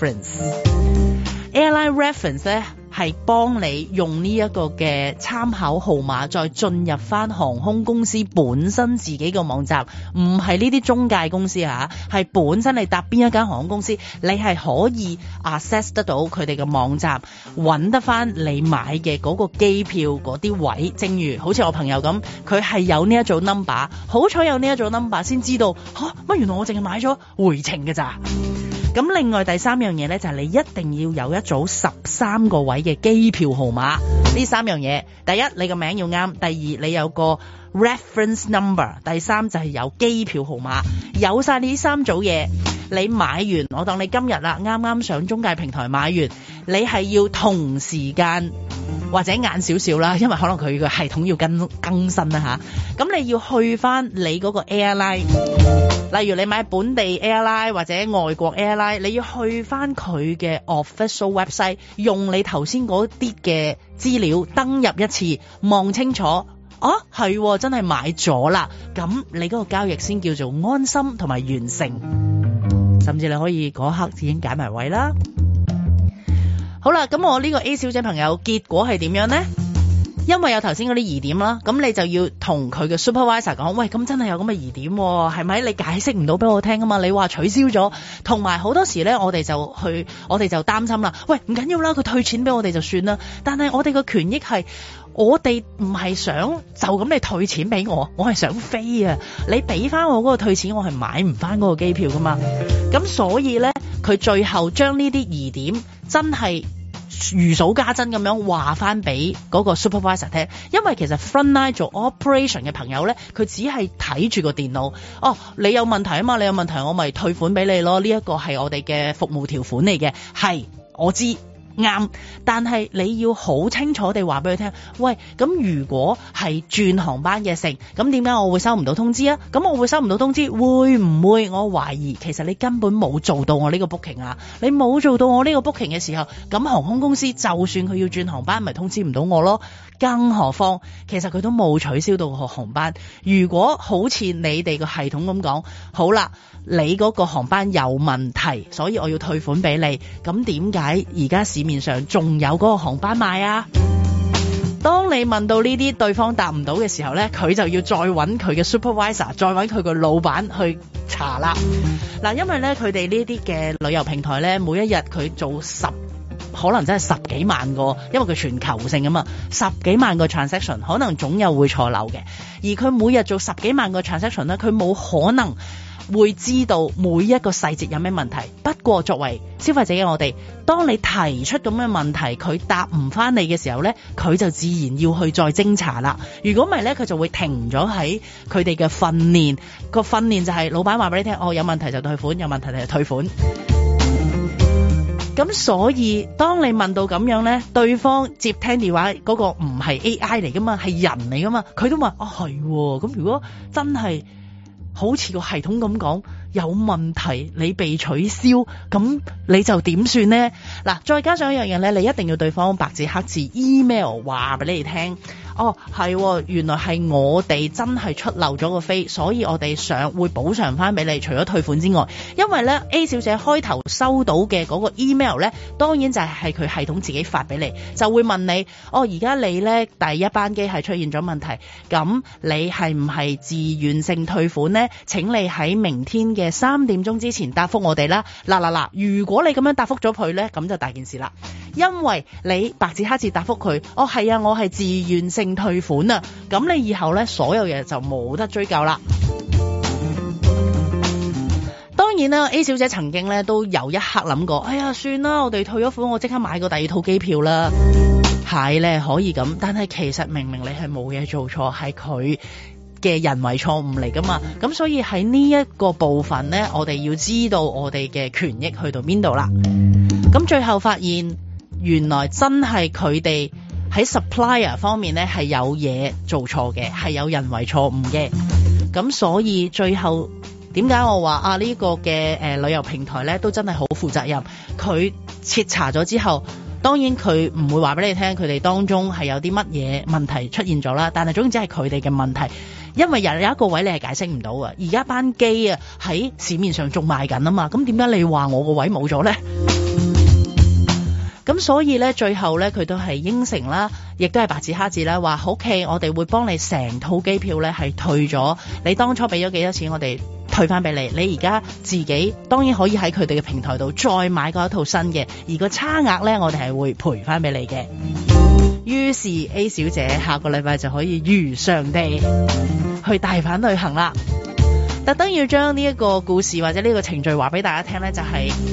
reference。airline reference 咧係幫你用呢一個嘅參考號碼再進入翻航空公司本身自己個網站，唔係呢啲中介公司吓，係本身你搭邊一間航空公司，你係可以 access 得到佢哋嘅網站，揾得翻你買嘅嗰個機票嗰啲位。正如好似我朋友咁，佢係有呢一組 number， 好彩有呢一組 number 先知道吓乜、啊、原來我淨係買咗回程嘅咋。咁另外第三樣嘢咧，就係你一定要有一組十三個位嘅機票號碼。呢三樣嘢，第一你個名要啱，第二你有個 reference number， 第三就係有機票號碼。有晒呢三組嘢，你買完，我當你今日啦，啱啱上中介平台買完，你係要同時間或者晏少少啦，因為可能佢個系統要更更新啦吓。咁你要去翻你嗰個 airline。例如你買本地 airline 或者外國 airline， 你要去翻佢嘅 official website， 用你頭先嗰啲嘅資料登入一次，望清楚，啊係真係買咗啦，咁你嗰個交易先叫做安心同埋完成，甚至你可以嗰刻已經揀埋位啦。好啦，咁我呢個 A 小姐朋友結果係點樣呢？因為有頭先嗰啲疑點啦，咁你就要同佢嘅 supervisor 講，喂，咁真係有咁嘅疑點，係咪？你解釋唔到俾我聽啊嘛？你話取消咗，同埋好多時咧，我哋就去，我哋就擔心啦。喂，唔緊要啦，佢退錢俾我哋就算啦。但係我哋嘅權益係，我哋唔係想就咁你退錢俾我，我係想飛啊！你俾翻我嗰個退錢，我係買唔翻嗰個機票噶嘛。咁所以咧，佢最後將呢啲疑點真係如數家珍咁樣話翻俾嗰個 supervisor 聽，因為其實 frontline 做 operation 嘅朋友咧，佢只係睇住個電腦，哦，你有問題啊嘛，你有問題我咪退款俾你咯，呢一個係我哋嘅服務條款嚟嘅，係我知。啱，但係你要好清楚地話俾佢聽，喂，咁如果係轉航班嘅成，咁點解我會收唔到通知啊？咁我會收唔到通知，會唔會我懷疑其實你根本冇做到我呢個 booking 啊？你冇做到我呢個 booking 嘅時候，咁航空公司就算佢要轉航班，咪通知唔到我咯？更何況其實佢都冇取消到個航班。如果好似你哋個系統咁講，好啦，你嗰個航班有問題，所以我要退款俾你，咁點解而家市面上仲有嗰個航班賣啊？當你問到呢啲對方答唔到嘅時候呢，佢就要再揾佢嘅 supervisor， 再揾佢個老闆去查啦。嗱，因為呢，佢哋呢啲嘅旅遊平台呢，每一日佢做十可能真係十幾萬個，因為佢全球性啊嘛，十幾萬個 transaction， 可能總有會錯漏嘅。而佢每日做十幾萬個 transaction 呢，佢冇可能會知道每一個細節有咩問題。不過作為消費者嘅我哋，當你提出咁嘅問題，佢答唔翻你嘅時候呢，佢就自然要去再偵查啦。如果唔係呢，佢就會停咗喺佢哋嘅訓練。個訓練就係老闆話俾你聽，哦，有問題就退款，有問題就退款。咁所以當你問到咁樣呢，對方接聽電話嗰個唔係 A I 嚟噶嘛，係人嚟噶嘛，佢都話啊係，咁如果真係好似個系統咁講， 有問題，你被取消，咁你就點算呢？嗱，再加上一樣嘢咧，你一定要對方白紙黑字 email 話俾你哋聽。哦，係，原來係我哋真係出漏咗個飛，所以我哋想會補償翻俾你，除咗退款之外，因為咧 A 小姐開頭收到嘅嗰個 email 咧，當然就係佢系統自己發俾你，就會問你，哦，而家你咧第一班機係出現咗問題，咁你係唔係自願性退款呢？請你喺明天嘅三點鐘之前答覆我哋啦。嗱嗱嗱，如果你咁樣答覆咗佢咧，咁就大件事啦，因為你白紙黑字答覆佢，哦，係啊，我係自願性退款啊，咁你以後咧所有嘢就冇得追究啦。當然啦 ，A 小姐曾經咧都有一刻諗過，哎呀，算啦，我哋退咗款，我即刻買個第二套機票啦。係咧可以咁，但係其實明明你係冇嘢做錯，係佢嘅人為錯誤嚟噶嘛。咁所以喺呢一個部分咧，我哋要知道我哋嘅權益去到邊度啦。咁最後發現，原來真係佢哋喺 supplier 方面咧係有嘢做錯嘅，係有人為錯誤嘅。咁所以最後點解我話啊呢、呢個嘅誒、呃、旅遊平台咧都真係好負責任。佢徹查咗之後，當然佢唔會話俾你聽佢哋當中係有啲乜嘢問題出現咗啦。但係總之係佢哋嘅問題，因為有有一個位你係解釋唔到嘅。而家班機啊喺市面上仲賣緊啊嘛，咁點解你話我個位冇咗咧？咁所以咧，最後咧，佢都係應承啦，亦都係白紙黑字啦，話 OK，我哋會幫你成套機票咧係退咗，你當初俾咗幾多錢，我哋退翻俾你。你而家自己當然可以喺佢哋嘅平台度再買過一套新嘅，而個差額咧，我哋係會賠翻俾你嘅。於是 A 小姐下個禮拜就可以如常地去大阪旅行啦。特登要將呢一個故事或者呢個程序話俾大家聽咧，就係、是。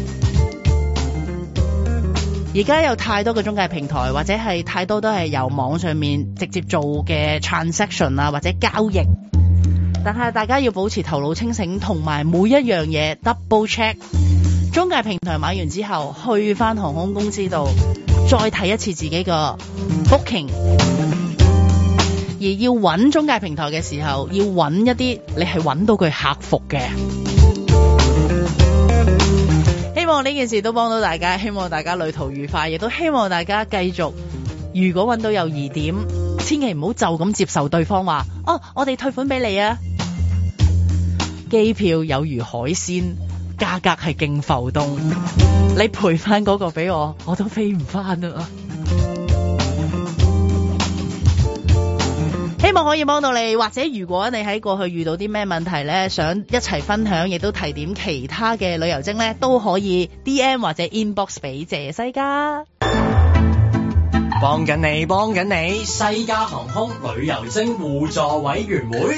而家有太多嘅中介平台，或者係太多都係由網上面直接做嘅 transaction 啊，或者交易。但係大家要保持頭腦清醒，同埋每一樣嘢 double check。中介平台買完之後，去翻航空公司度再睇一次自己個 booking。而要揾中介平台嘅時候，要揾一啲你係揾到佢客服嘅。希望呢件事都幫到大家，希望大家旅途愉快，亦都希望大家繼續，如果揾到有疑點，千祈唔好就咁接受對方話，哦，我哋退款俾你啊。機票有如海鮮，價格係勁浮動，你賠翻嗰個俾我，我都飛唔翻啊。希望可以幫到你，或者如果你喺過去遇到啲咩問題呢，想一齊分享，亦都提點其他嘅旅遊精呢，都可以 D M 或者 inbox 俾謝西加。 幫緊你，幫緊你，西加航空旅遊精互助委員會。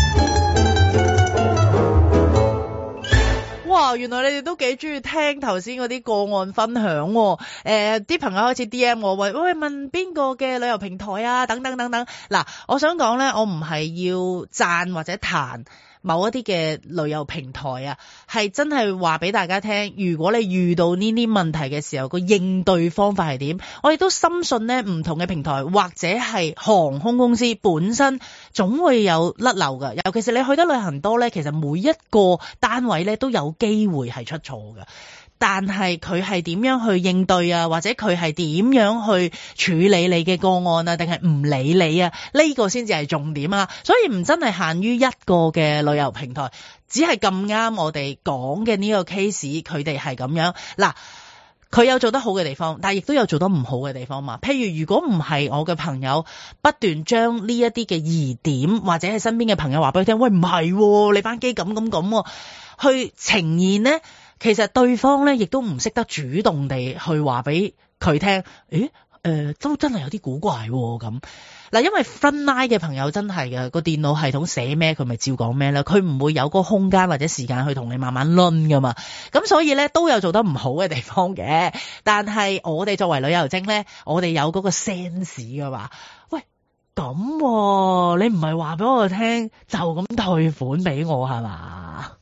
哇，原來你哋都幾中意聽頭先嗰啲個案分享喎、哦。誒、呃，啲朋友開始 D M 我，喂喂，問邊個嘅旅遊平台啊？等等等等。嗱，我想講咧，我唔係要讚或者彈某一啲嘅旅遊平台啊，係真係話俾大家聽，如果你遇到呢啲問題嘅時候，個應對方法係點？我亦都深信呢，唔同嘅平台或者係航空公司本身總會有甩漏㗎。尤其是你去得旅行多呢，其實每一個單位呢都有機會係出錯㗎。但係佢係點樣去應對啊？或者佢係點樣去處理你嘅個案啊？定係唔理你啊？呢個先至係重點啊！所以唔真係限於一個嘅旅遊平台，只係咁啱我哋講嘅呢個 case，佢哋係咁樣。嗱，佢有做得好嘅地方，但係亦都有做得唔好嘅地方嘛。譬如如果唔係我嘅朋友不斷將呢一啲嘅疑點，或者係身邊嘅朋友話俾佢聽，喂，唔係，你班機咁咁咁，去呈現呢。其實對方咧亦都唔識得主動地去話俾佢聽，誒誒、呃、都真係有啲古怪喎咁。嗱，因為 frontline 嘅朋友真係嘅，個電腦系統寫咩佢咪照講咩啦，佢唔會有個空間或者時間去同你慢慢輪噶嘛。咁所以咧都有做得唔好嘅地方嘅，但係我哋作為旅遊精咧，我哋有嗰個 sense 噶嘛。喂，咁、啊、你唔係話俾我聽就咁退款俾我係嘛？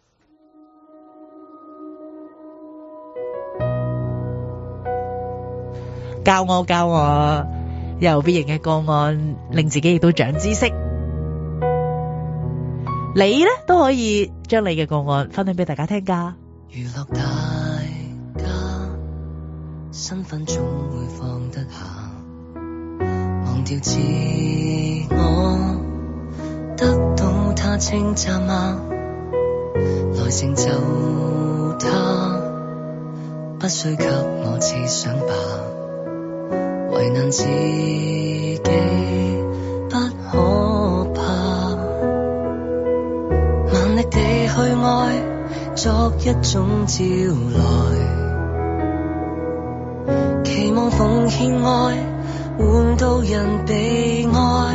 教我教我，有必型嘅個案，令自己亦都長知識。 你咧都可以將你嘅個案分享俾大家聽㗎。 娛樂大家身份總會放得下，忘掉自我，得到他稱讚嗎？來成就他，不需給我設想吧，為難自己不可怕，萬力地去愛作一種招來，期望奉獻愛換到人被愛，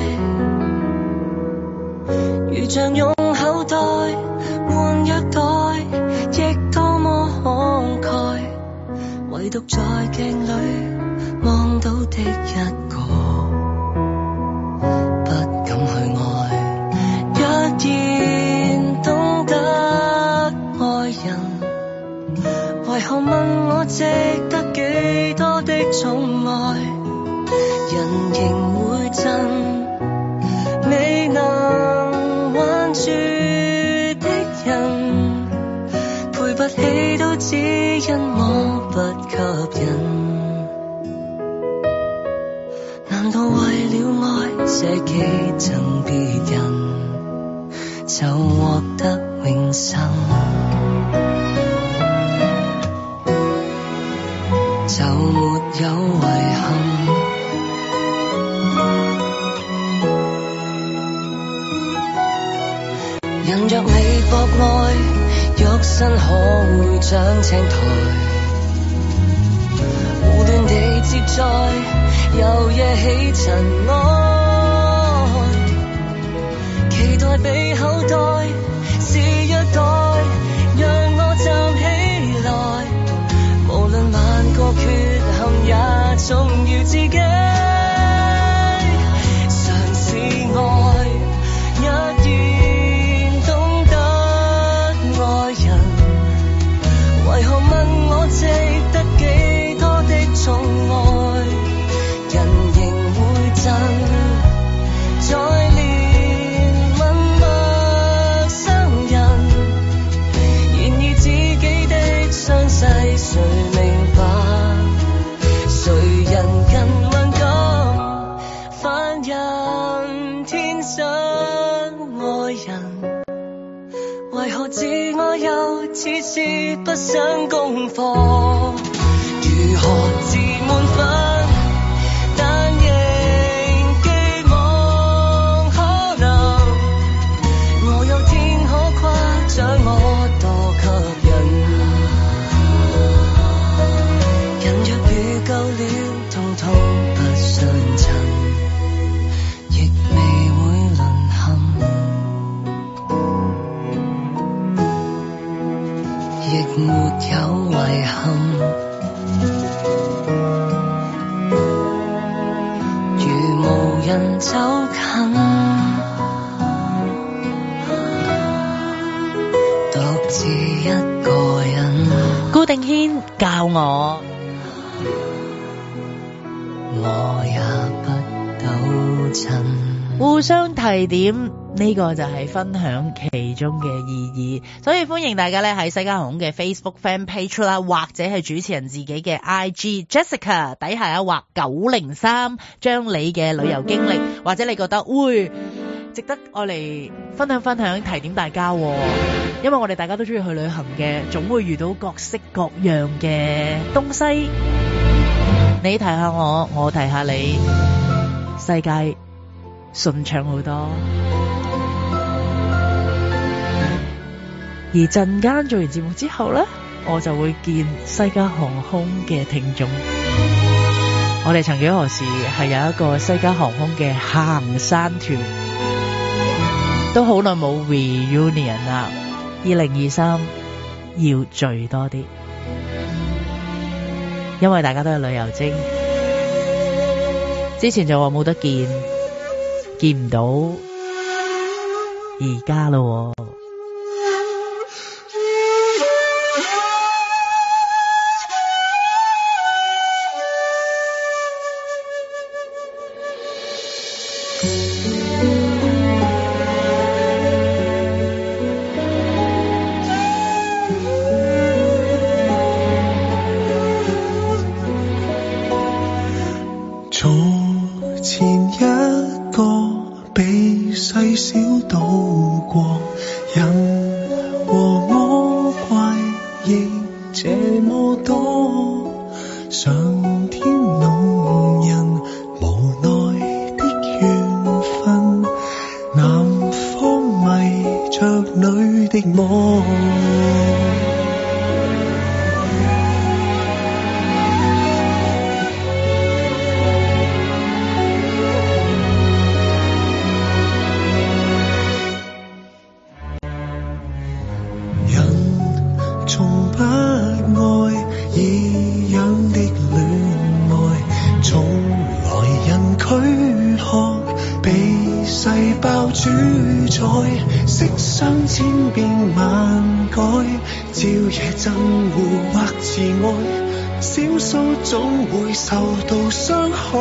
如像用口袋換虐待，亦多麼慷慨，唯獨在鏡裡望到的一個，不敢去愛。若然懂得愛人，為何問我值得幾多的寵愛？人仍會震，未能挽住的人，賠不起都只因我不吸引。難道為了愛捨己贈別人，就獲得永生？就沒有遺憾。人若你博愛，肉身可會長青苔，胡亂地接載，又惹起塵埃，期待被口袋是虐待，讓我站起來，無論萬個缺陷也重要自己，嘗試愛。若然懂得愛人，為何問我值得幾多的寵愛？人仍會震，再憐憫陌生人，然而自己的傷勢誰明白？誰人更敏感？凡人天生愛人，為何自愛又似是不想功課？如何自滿分？但仍寄望可能，我有天可誇獎我多吸引。人若遇夠了，通通不相襯，亦未會淪陷，亦沒有遺憾。如無人走近，獨自一個人。 顧定軒教我， 我也不糾纏， 互相提點，呢個就係分享其中嘅意義。所以歡迎大家咧喺西加航空嘅 Facebook Fan Page 啦，或者係主持人自己嘅 I G Jessica 底下一畫九零三，將你嘅旅遊經歷或者你覺得會值得我嚟分享分享，提點大家。因為我哋大家都中意去旅行嘅，總會遇到各式各樣嘅東西。你提下我，我提下你，世界順暢好多。而陣間做完節目之後呢，我就會見西加航空嘅聽眾。我哋曾幾何時係有一個西加航空嘅行山團，都好耐冇 reunion 啦。二零二三要聚多啲，因為大家都係旅遊精。之前就話冇得見，見唔到，而家咯。 細小度過，人和魔怪亦這麼多，上天弄人無奈的緣分，南方迷着女的夢。色相千變萬改，朝夜憎惡或自愛，少數總會受到傷害。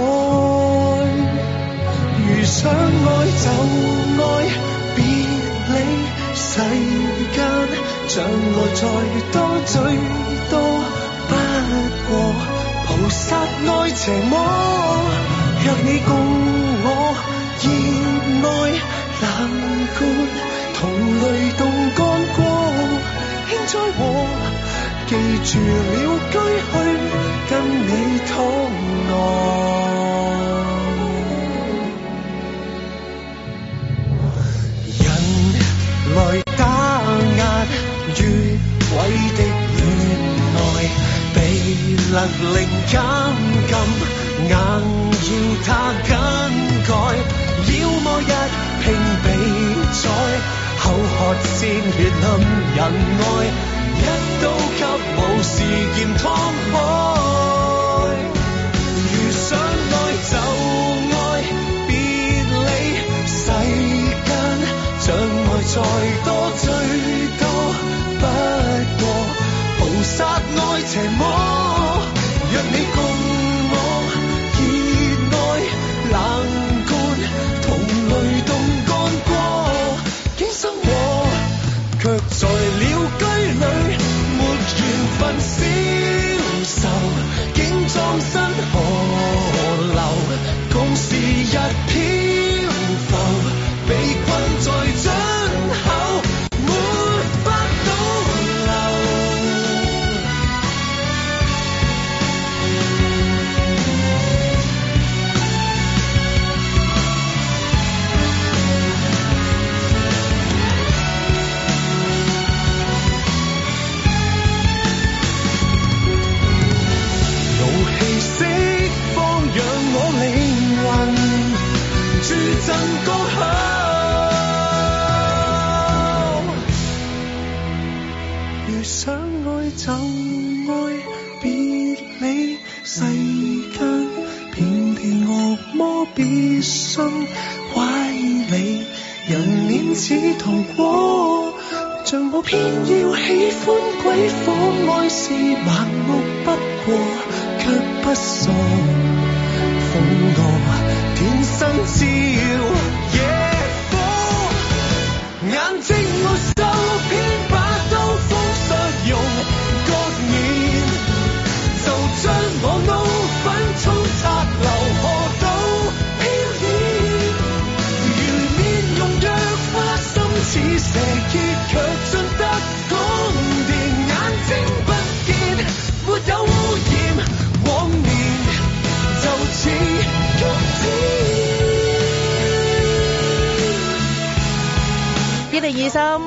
如想愛就愛，別理世間障礙再多，最多不過菩薩愛邪魔。若你共我熱愛冷觀，同類動干戈，輕災禍，記住了歸去跟你討愛。人來打壓越軌的戀愛，被勒令監禁，硬要他更改，要麼一拼比賽，口渴鮮血淋人愛，一刀給武士劍劏開。如想愛就愛，別理世間障礙再多，最多不過菩薩愛邪魔。若你共我熱愛冷觀，同類動干戈，今生我卻在了居裏，沒緣分消愁，竟葬身河流，共是日漂浮，被困在樽口，沒法倒流。駐陣高考，如想愛就愛，別理世間遍地惡魔，別信歪理，人面似糖果，像我偏要喜歡鬼火，愛是盲目不過，卻不傻，瘋我天生照野火，眼睛沒收，偏把刀鋒削用，割面就將我怒憤沖擦流河道飄逸，如面容若花心似蛇結，卻進得宮殿，眼睛不見沒有污染，往年就似菊子。 二零二三，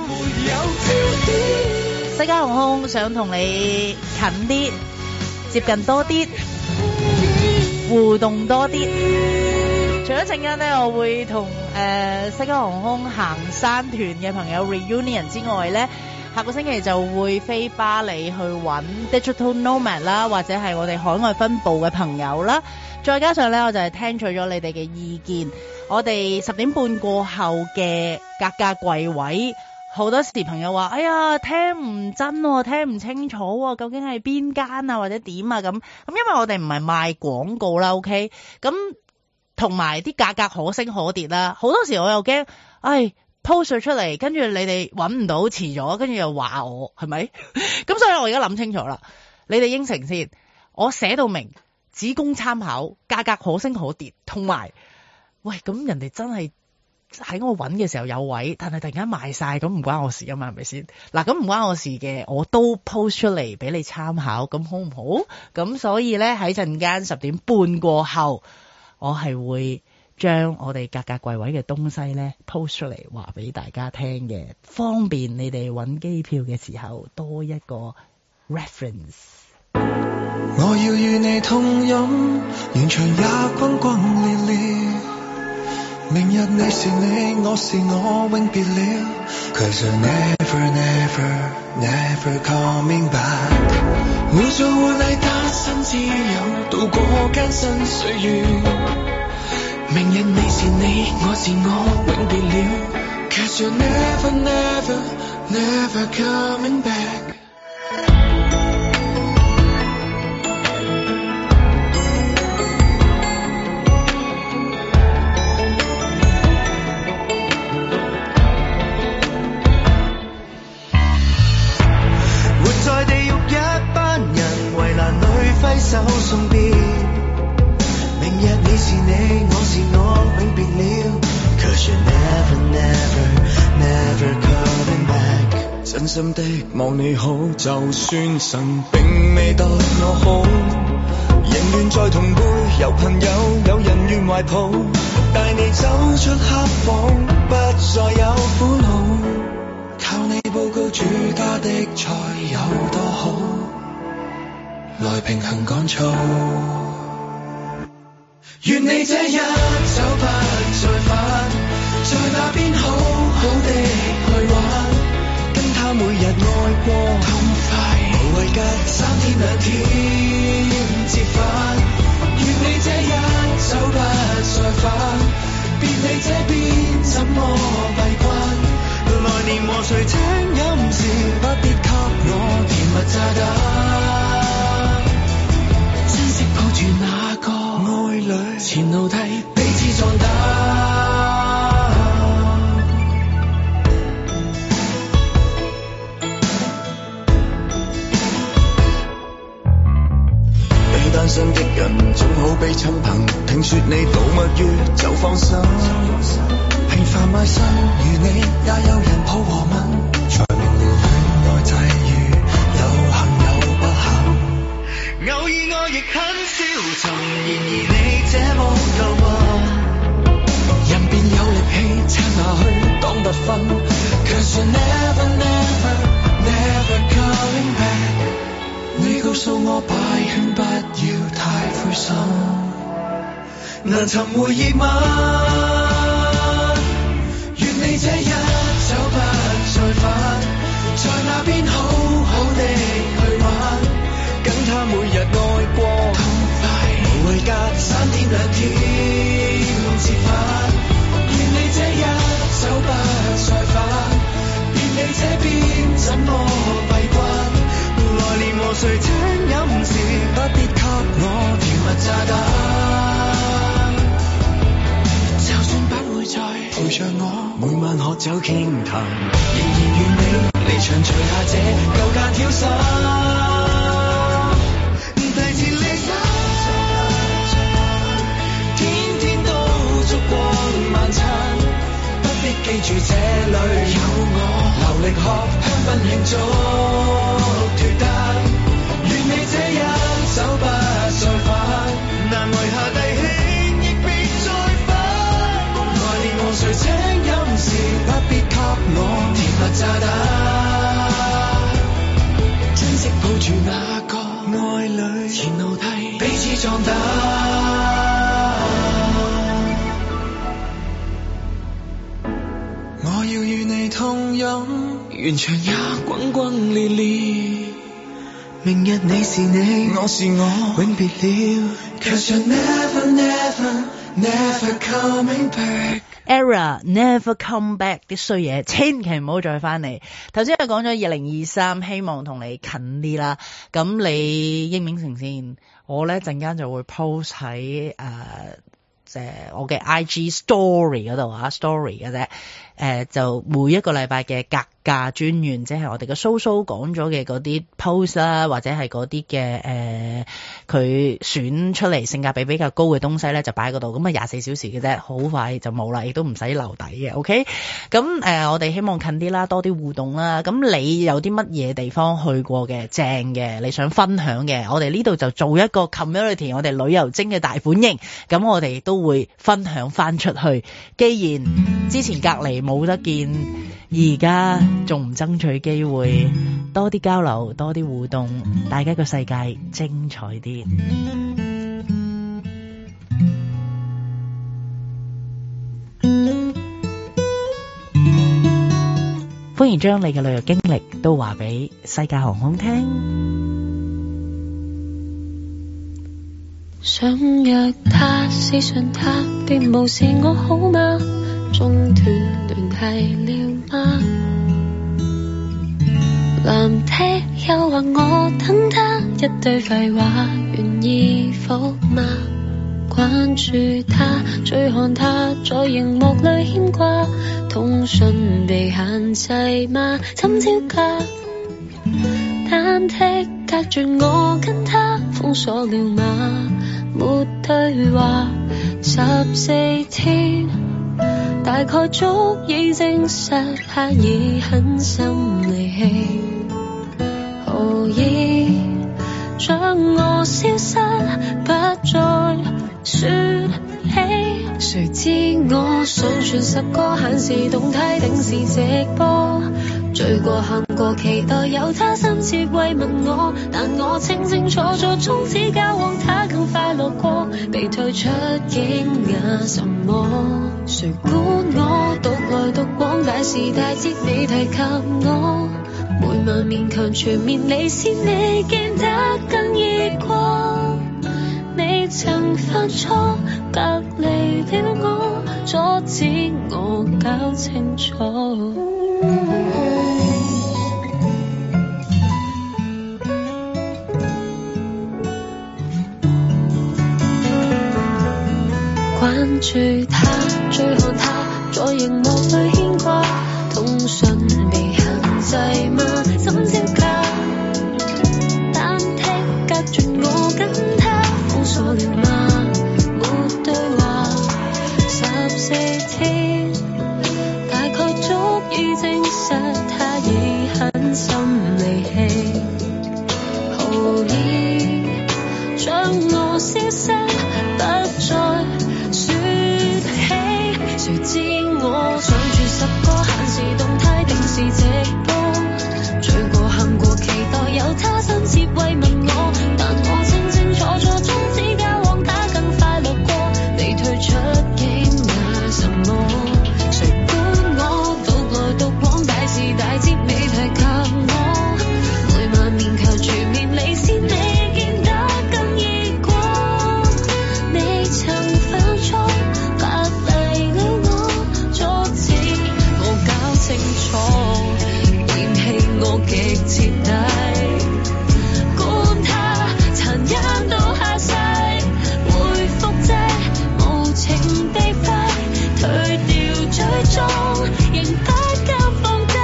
西加航空想同你近啲，接近多啲，互動多啲。除咗陣間呢，我會同誒、呃、西加航空行山團嘅朋友 reunion 之外呢，下個星期就會飛巴黎去揾 Digital Nomad 啦，或者係我哋海外分部嘅朋友啦。再加上呢，我就係聽取咗你哋嘅意見。我哋十點半過後嘅格價櫃位，好多時朋友話：哎呀，聽唔真喎，聽唔清楚喎，究竟係邊間啊，或者點啊咁。咁因為我哋唔係賣廣告啦 ，OK？咁同埋啲價格可升可跌啦。好多時我又驚，唉 post 出嚟，跟住你哋揾唔到，遲咗，跟住又話我係咪？咁所以我而家諗清楚啦，你哋應承先，我寫到明，只供參考，價格可升可跌，同埋。喂，咁人哋真係喺我揾嘅時候有位，但係突然間賣晒，咁唔關我事㗎嘛，係咪先？嗱，咁唔關我事嘅，我都 post 出嚟俾你參考，咁好唔好？咁所以咧喺陣間十點半過後，我係會將我哋格格櫃位嘅東西咧 post 出嚟，話俾大家聽嘅，方便你哋揾機票嘅時候多一個 reference。 我要與你同飲，現場也轟轟烈烈。明日你是你，我是我，永別了。Cause you're never, never, never coming back。互助互勵，單身自由，度過艱辛歲月。明日你是你，我是我，永別了。Cause you're never, never, never coming back。揮手送別，明日你是你，我是我，永別了。Cause you're never, never, never coming back。真心的望你好，就算神並未待我好，仍願在同輩，有朋友，有人願懷抱，帶你走出黑房，不再有苦惱，靠你報告主家的菜有多好，來平衡趕躁。願你這一走不再返，在那邊好好的去玩，跟他每日愛過痛快，無謂隔三天兩天折返。願你這一走不再返，別理這邊怎麼閉關，來年和誰請飲時，不必給我甜蜜炸彈。抱住那個愛侶，前路替彼此壯膽。被單身的人總好比親朋，聽說你度蜜月就放心。平凡賣身如你，也有人抱和吻，才明了戀愛際遇有幸有不幸。偶爾我亦很消沉，然而你這麼夠運，人便有力氣撐下去當特訓。Cause you're never, never, never coming back。你告訴我擺圈不要太灰心，難尋回憶嗎？願你這一走不再返，在那邊好好的去玩，跟他每日愛過痛快，無謂隔三天兩天折返。願你這一走不再返，別理這邊怎麼閉關，來年和誰請飲時，不必給我甜蜜炸彈。就算不會再陪着我，每晚喝酒傾談，仍然願你離場除下這舊架挑衫。記住這裡有我，流力喝香檳慶祝脫單。願你這一走不再返，難為下弟兄亦別再返。來年和誰請飲時，不必給我甜蜜炸彈。珍惜抱住那個愛侶，前路替彼此壯膽。我要與你同飲，完場也轟轟烈烈。明日你是你，我是我，永別了。Cause you're never, never, never coming back。 Era never come back 啲衰嘢，千祈唔好再翻嚟。頭先係講咗二零二三，希望同你近啲啦。咁你應唔應承先？我咧陣間就會 post 喺誒。呃誒，我嘅 I G story 嗰度啊 story 嘅啫，誒，就每一個禮拜嘅格價專員，即係我哋嘅蘇蘇講咗嘅嗰啲 post 啦，或者係嗰啲嘅誒佢選出嚟性價比比較高嘅東西咧，就擺喺嗰度。咁啊廿四小時嘅啫，好快就冇啦，亦都唔使留底嘅。OK， 咁誒、呃、我哋希望近啲啦，多啲互動啦。咁你有啲乜嘢地方去過嘅正嘅，你想分享嘅，我哋呢度就做一個 community， 我哋旅遊精嘅大本營，咁我哋都會分享翻出去。既然之前隔離冇得見，而家仲唔爭取機會，多啲交流，多啲互動，大家個世界精彩啲。歡迎將你嘅旅遊經歷都話俾西加航空聽。 想約他，私信他，別無視我好嗎？中斷聯繫了嗎？藍剔又話我等他，一堆廢話願意否嗎？關注他，追看他，在熒幕裡牽掛，通訊被限制嗎？怎招架？單剔隔絕我跟他，封鎖了嗎？沒對話，十四天大概足以證實他已狠心離棄，何以將我消失，不再說起？誰知我上傳十個限時動態定時直播，醉過喊過期待有他深切慰問我，但我清清楚楚從此交往他更快樂過，被退出驚訝什麼？誰管我獨來獨往，大時大節你提及我，每晚勉強全面離線，你見得更易過。你曾犯錯，隔離了我，阻止我搞清楚。關注他，追看他，在熒幕裡牽掛，通訊被限制嗎？怎招架？單剔隔絕我跟他，封鎖了嗎？沒對話，十四天大概足以證實他已狠心離棄，何以將我消失，不再說起？誰知我上傳十個限時動態定時直播，醉過喊過期待有他深切慰問我，但我清清楚楚從此交往他更快樂過，被退出驚訝什麼？誰管我獨來獨往，大時大節未提及我，每晚勉強全面離線，你見得更易過。你曾犯錯，隔離了我，阻止我搞清楚，嫌棄我極徹底，管他殘忍到下世，回復這無情地揮，退掉追蹤，仍不敢放低。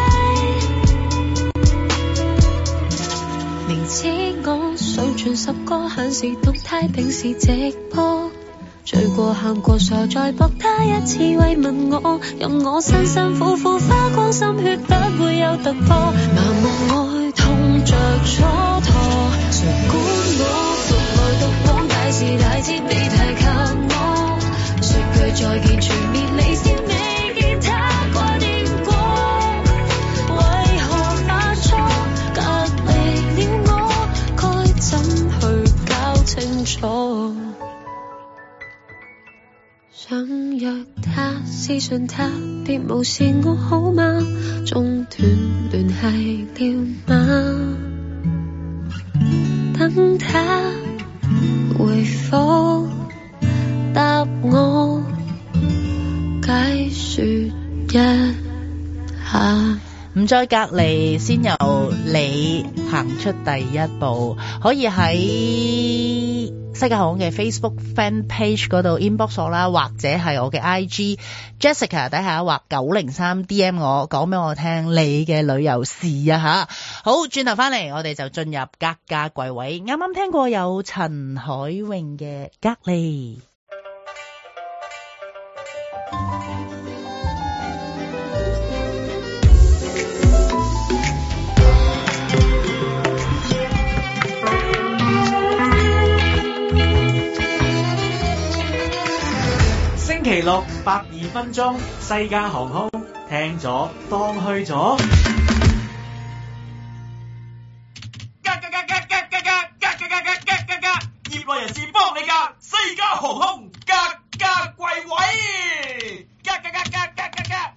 明知我上傳十個限時動態定時直播，醉過喊過傻再搏他一次慰問我，任我辛辛苦苦花光心血不會有突破，麻木愛痛着蹉跎，誰管我獨來獨往，大時大節未提及我，說句再見全面離線，未見他掛念過，為何犯錯，隔離了我，該怎去搞清楚？想約他，私信他，別無視我好嗎？中斷聯繫了嗎？等他回覆答我，解說一下。 唔再隔離，先由你行出第一步，可以喺西加航空嘅 Facebook Fan Page 嗰度 inbox 我啦，或者係我嘅 I G Jessica 底下畫九零三 D M 我，講俾我聽你嘅旅遊事啊吓。好，轉頭翻嚟我哋就進入格價櫃位。啱啱聽過有陳海詠嘅隔離。 星期六百二分鐘，西加航空聽咗當去咗。業內人士幫你㗎，西加航空格價櫃位，格格格格格格格。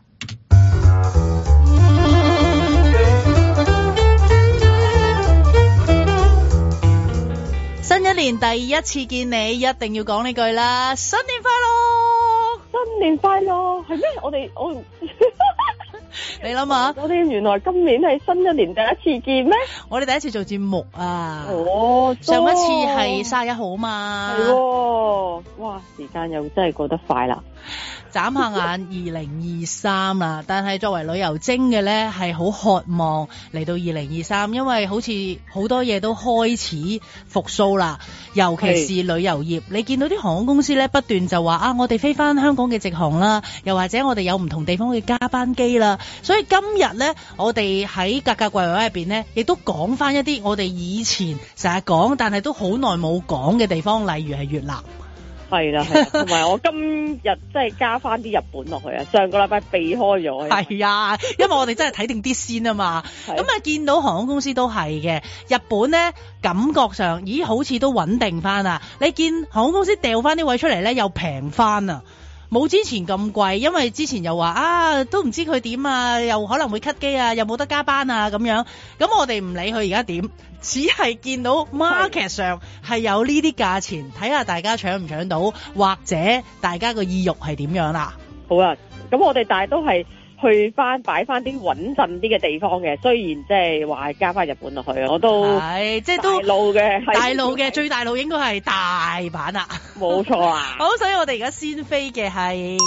新一年第一次見你，一定要講呢句啦，新年快樂！ 新年快樂係咩？我哋我你諗下， 我哋原來今年係新一年第一次見咩？ 我哋第一次做節目啊！ 哦， 上一次係三十一號嘛？ 係喎，哇！時間又真係過得快啦！ 眨下眼二零二三啦，但係作為旅遊精嘅咧，係好渴望嚟到二零二三，因為好似好多嘢都開始復甦啦，尤其是旅遊業。你見到啲航空公司咧不斷就話啊，我哋飛翻香港嘅直航啦，又或者我哋有唔同地方嘅加班機啦。所以今日咧，我哋喺格價櫃位入邊咧，亦都講翻一啲我哋以前成日講，但係都好耐冇講嘅地方，例如係越南。 係啦，係啦，同埋我今日即係加翻啲日本落去啊！上個禮拜避開咗。 係啊，因為我哋真係睇定啲先啊嘛。咁啊，見到航空公司都係嘅。日本咧感覺上，咦，好似都穩定翻啊！你見航空公司掉翻啲位出嚟咧，又平翻啊！冇之前咁貴，因為之前又話啊，都唔知佢點啊，又可能會 cut 機啊，又冇得加班啊咁樣。咁我哋唔理佢而家點，只係見到 market 上係有呢啲價錢，睇下大家搶唔搶到，或者大家個意欲係點樣啦。 好啊，咁我哋但係都係去翻擺翻啲穩陣啲嘅地方嘅，雖然即係話加翻日本落去，我都係即係都大路嘅，大路嘅最大路應該係大阪啦，冇錯啊。 好，所以我哋而家先飛嘅係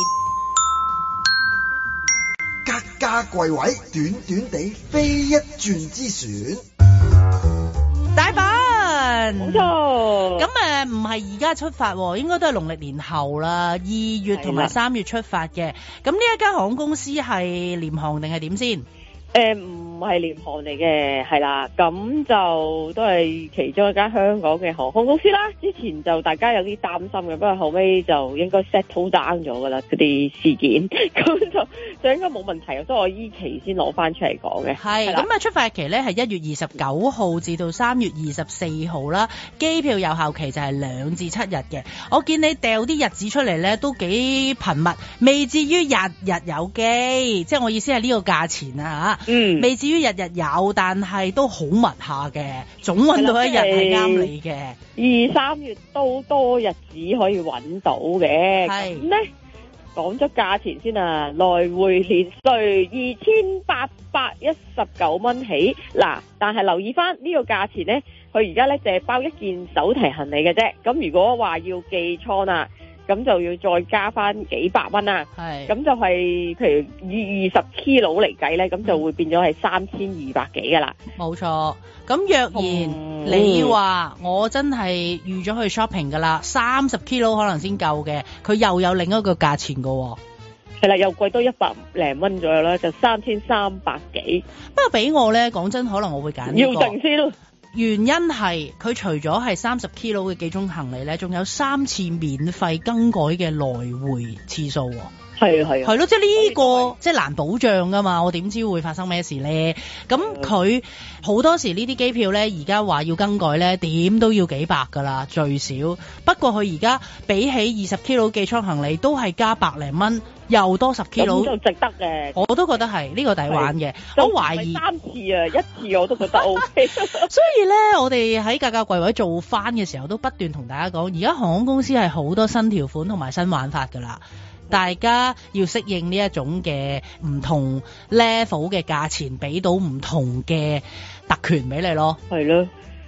格價櫃位，短短地飛一轉之船， 大阪， 冇錯。 咁誒唔係而家出發，應該都係農曆年後啦，二月同埋三月出發嘅。咁呢一間航空公司係廉航定係點先？ 誒唔係廉航嚟嘅，係啦，咁就都係其中一間香港嘅航空公司啦。之前就大家有啲擔心嘅，不過後尾就應該 settle down 咗噶啦，嗰啲事件，咁就就應該冇問題，所以我依期先攞翻出嚟講嘅。係， 咁啊出發期咧係一月二十九號至到三月二十四號啦，機票有效期就係兩至七日嘅。我見你掉啲日子出嚟咧都幾頻密，未至於日日有機，即係我意思係呢個價錢啊嚇。嗯，未至於日日有，但係都好密下嘅，總揾到一日係啱你嘅。 二三月都多日子可以揾到嘅。係咁咧，講咗價錢先啊，來回連稅二千八百一十九蚊起。嗱，但係留意翻呢個價錢咧，佢而家咧就係包一件手提行李嘅啫。咁如果話要寄倉啊，咁就要再加翻幾百蚊啦，係，咁就係譬如以二十 kilo 嚟計咧，咁就會變咗係三千二百幾噶啦。 冇錯，咁若然、嗯、你話我真係預咗去 shopping 噶啦，三十 kilo 可能先夠嘅，佢又有另一個價錢噶。 係啦，又貴多一百零蚊左右啦，就三千三百幾。 不過俾我咧，講真，可能我會揀呢個。 要定先咯。 原因係佢除咗係三十 kilo 嘅幾種行李咧，仲有三次免費更改嘅來回次數。係係係咯，即係呢個即係難保障噶嘛，我點知會發生咩事咧？咁佢好多時呢啲機票咧，而家話要更改咧，點都要幾百噶啦最少。不過佢而家比起二十 kilo 寄艙行李都係加百零蚊，又多十 kilo， 就值得嘅。 我都覺得係呢個抵玩嘅。我懷疑三次啊，一次我都覺得 OK。 所以咧，我哋喺格價櫃位做翻嘅時候，都不斷同大家講，而家航空公司係好多新條款同埋新玩法噶啦。大家要適應呢一種嘅唔同 level 嘅價錢，俾到唔同嘅特權俾你咯。 係咯，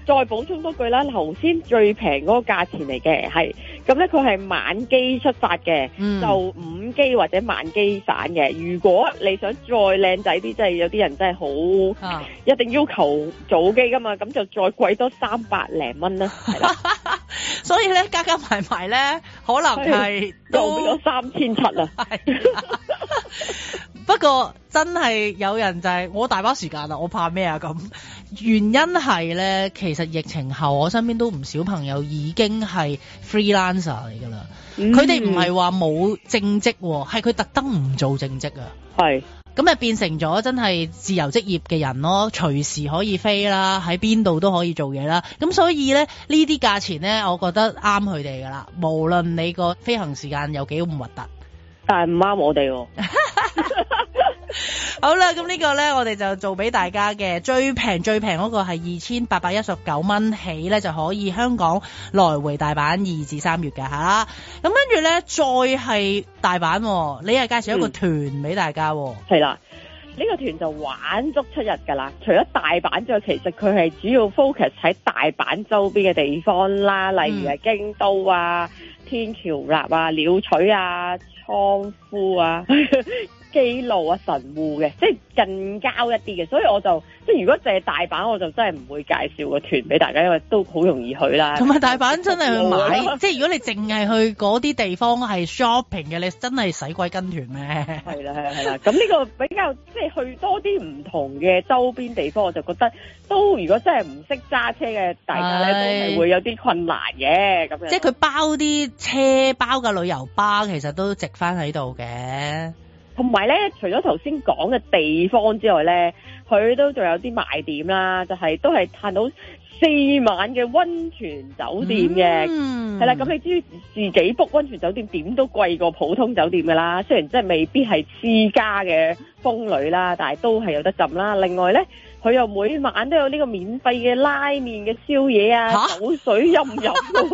再補充多句啦，頭先最平嗰個價錢嚟嘅，係咁咧，佢係晚機出發嘅，嗯、就午機或者晚機返嘅。如果你想再靚仔啲，即係有啲人真係好、啊、一定要求早機噶嘛，咁就再貴多三百零蚊啦，係啦。 所以咧，加加埋埋咧，可能係都咗三千七啦。 不過真係有人就係、是、我大把時間啦，我怕咩啊咁？原因係咧，其實疫情後我身邊都唔少朋友已經係 freelancer 嚟㗎啦。佢哋唔係話冇正職，係佢特登唔做正職啊。係咁啊，變成咗真係自由職業嘅人咯，隨時可以飛啦，喺邊度都可以做嘢啦。咁所以咧，呢啲價錢咧，我覺得啱佢哋㗎啦。無論你個飛行時間有幾咁核突， 但係唔啱我哋喎。 好啦，咁呢個呢，我哋就做俾大家嘅最平最平嗰個係二千八百一十九蚊起呢，就可以香港來回大阪二至三月㗎吓。咁跟住呢，再係大阪，你係介紹一個團俾大家。係、 嗯、啦，呢、這個團就玩足七日㗎啦。除咗大阪之外，其實佢係主要 focus 喺大阪周邊嘅地方啦，例如係京都啊、天橋立啊、鳥取啊、倉敷啊。基路啊、神戶嘅，即係近郊一啲嘅，所以我就即係如果淨係大阪，我就真係唔會介紹個團俾大家，因為都好容易去啦。同埋大阪真係去買，即係如果你淨係去嗰啲地方係 shopping 嘅，你真係使鬼跟團咩？係啦，係啦，係啦。咁呢個比較即係去多啲唔同嘅周邊地方，我就覺得都如果真係唔識揸車嘅大家咧，都係會有啲困難嘅咁樣。即係佢包啲車包嘅旅遊巴，其實都值翻喺度嘅。同埋咧，除咗頭先講嘅地方之外咧，佢都仲有啲賣點啦，就係、是、都係嘆到四晚嘅溫泉酒店嘅，係、嗯、啦。咁你知自己 book 溫泉酒店點都貴過普通酒店噶啦，雖然真係未必係私家嘅風呂啦，但係都係有得浸啦。另外咧，佢又每晚都有呢個免費嘅拉麵嘅宵夜啊，酒水任飲。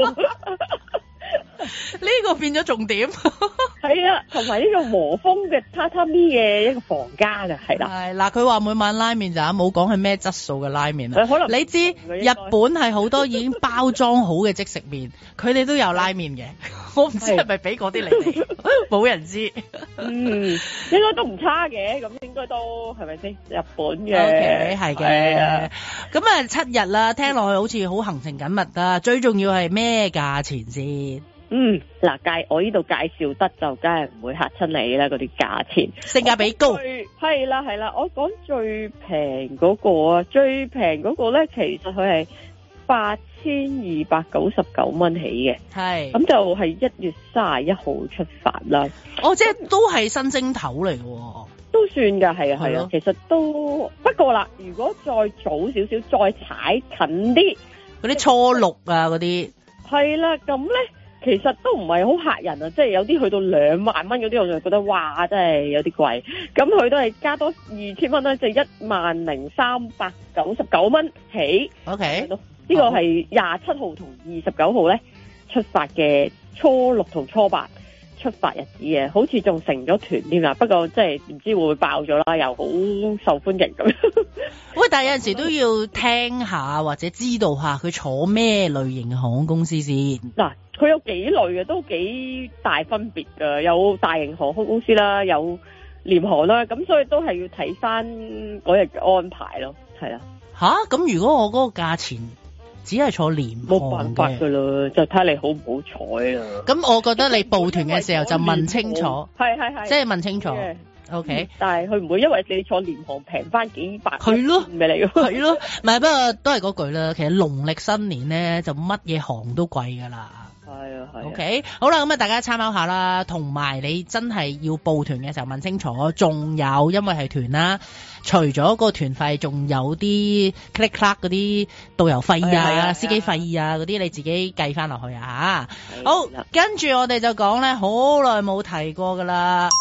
呢個變咗重點，係啊，同埋呢個和風嘅榻榻米嘅一個房間啊，係啦。係嗱，佢話每晚拉麵就冇講係咩質素嘅拉麵啊。可能你知日本係好多已經包裝好嘅即食麵，佢哋都有拉麵嘅。我唔知係咪俾嗰啲嚟哋，冇人知。嗯，應該都唔差嘅，咁應該都係咪先？日本嘅，OK，係嘅。咁啊，七日啦，聽落去好似好行程緊密啊。最重要係咩價錢先？嗯，嗱介我呢度介紹得就梗係唔會嚇親你啦，嗰啲價錢性價比高。係啦係啦，我講最平嗰個啊，最平嗰個咧，其實佢係八千二百九十九蚊起嘅。係，咁就係一月三十一號出發啦。哦，即係都係新正頭嚟嘅。都算㗎，係啊係啊，其實都不過啦，如果再早少少，再踩近啲嗰啲初六啊嗰啲，係啦，咁咧。其實都唔係好嚇人啊，即係有啲去到兩萬蚊嗰啲，我就覺得哇，真係有啲貴。咁佢都係加多二千蚊啦，即係一萬零三百九十九蚊起。OK，呢個係廿七號同二十九號咧出發嘅初六同初八出發日子嘅，好似仲成咗團添啦。不過即係唔知會唔會爆咗啦，又好受歡迎咁樣。喂，但係有陣時都要聽下或者知道下佢坐咩類型嘅航空公司先。嗱，佢有幾類嘅，都幾大分別㗎。有大型航空公司啦，有廉航啦，咁所以都係要睇翻嗰日嘅安排咯。係啦。吓？咁如果我嗰個價錢只係坐廉航嘅，冇辦法㗎啦，就睇你好唔好彩啦。咁我覺得你報團嘅時候就問清楚，係係係，即係問清楚。O K，嗯、但係佢唔會因為你坐廉航平翻幾百，係咯，唔係你，係咯，唔係不過都係嗰句啦。其實農曆新年咧就乜嘢行都貴噶啦。係啊係。O K，好啦，咁啊大家參考下啦，同埋你真係要報團嘅時候問清楚，仲有因為係團啦，除咗個團費，仲有啲 click clack 嗰啲導遊費啊、司機費啊嗰啲，你自己計翻落去啊吓。好，跟住我哋就講咧，好耐冇提過噶啦。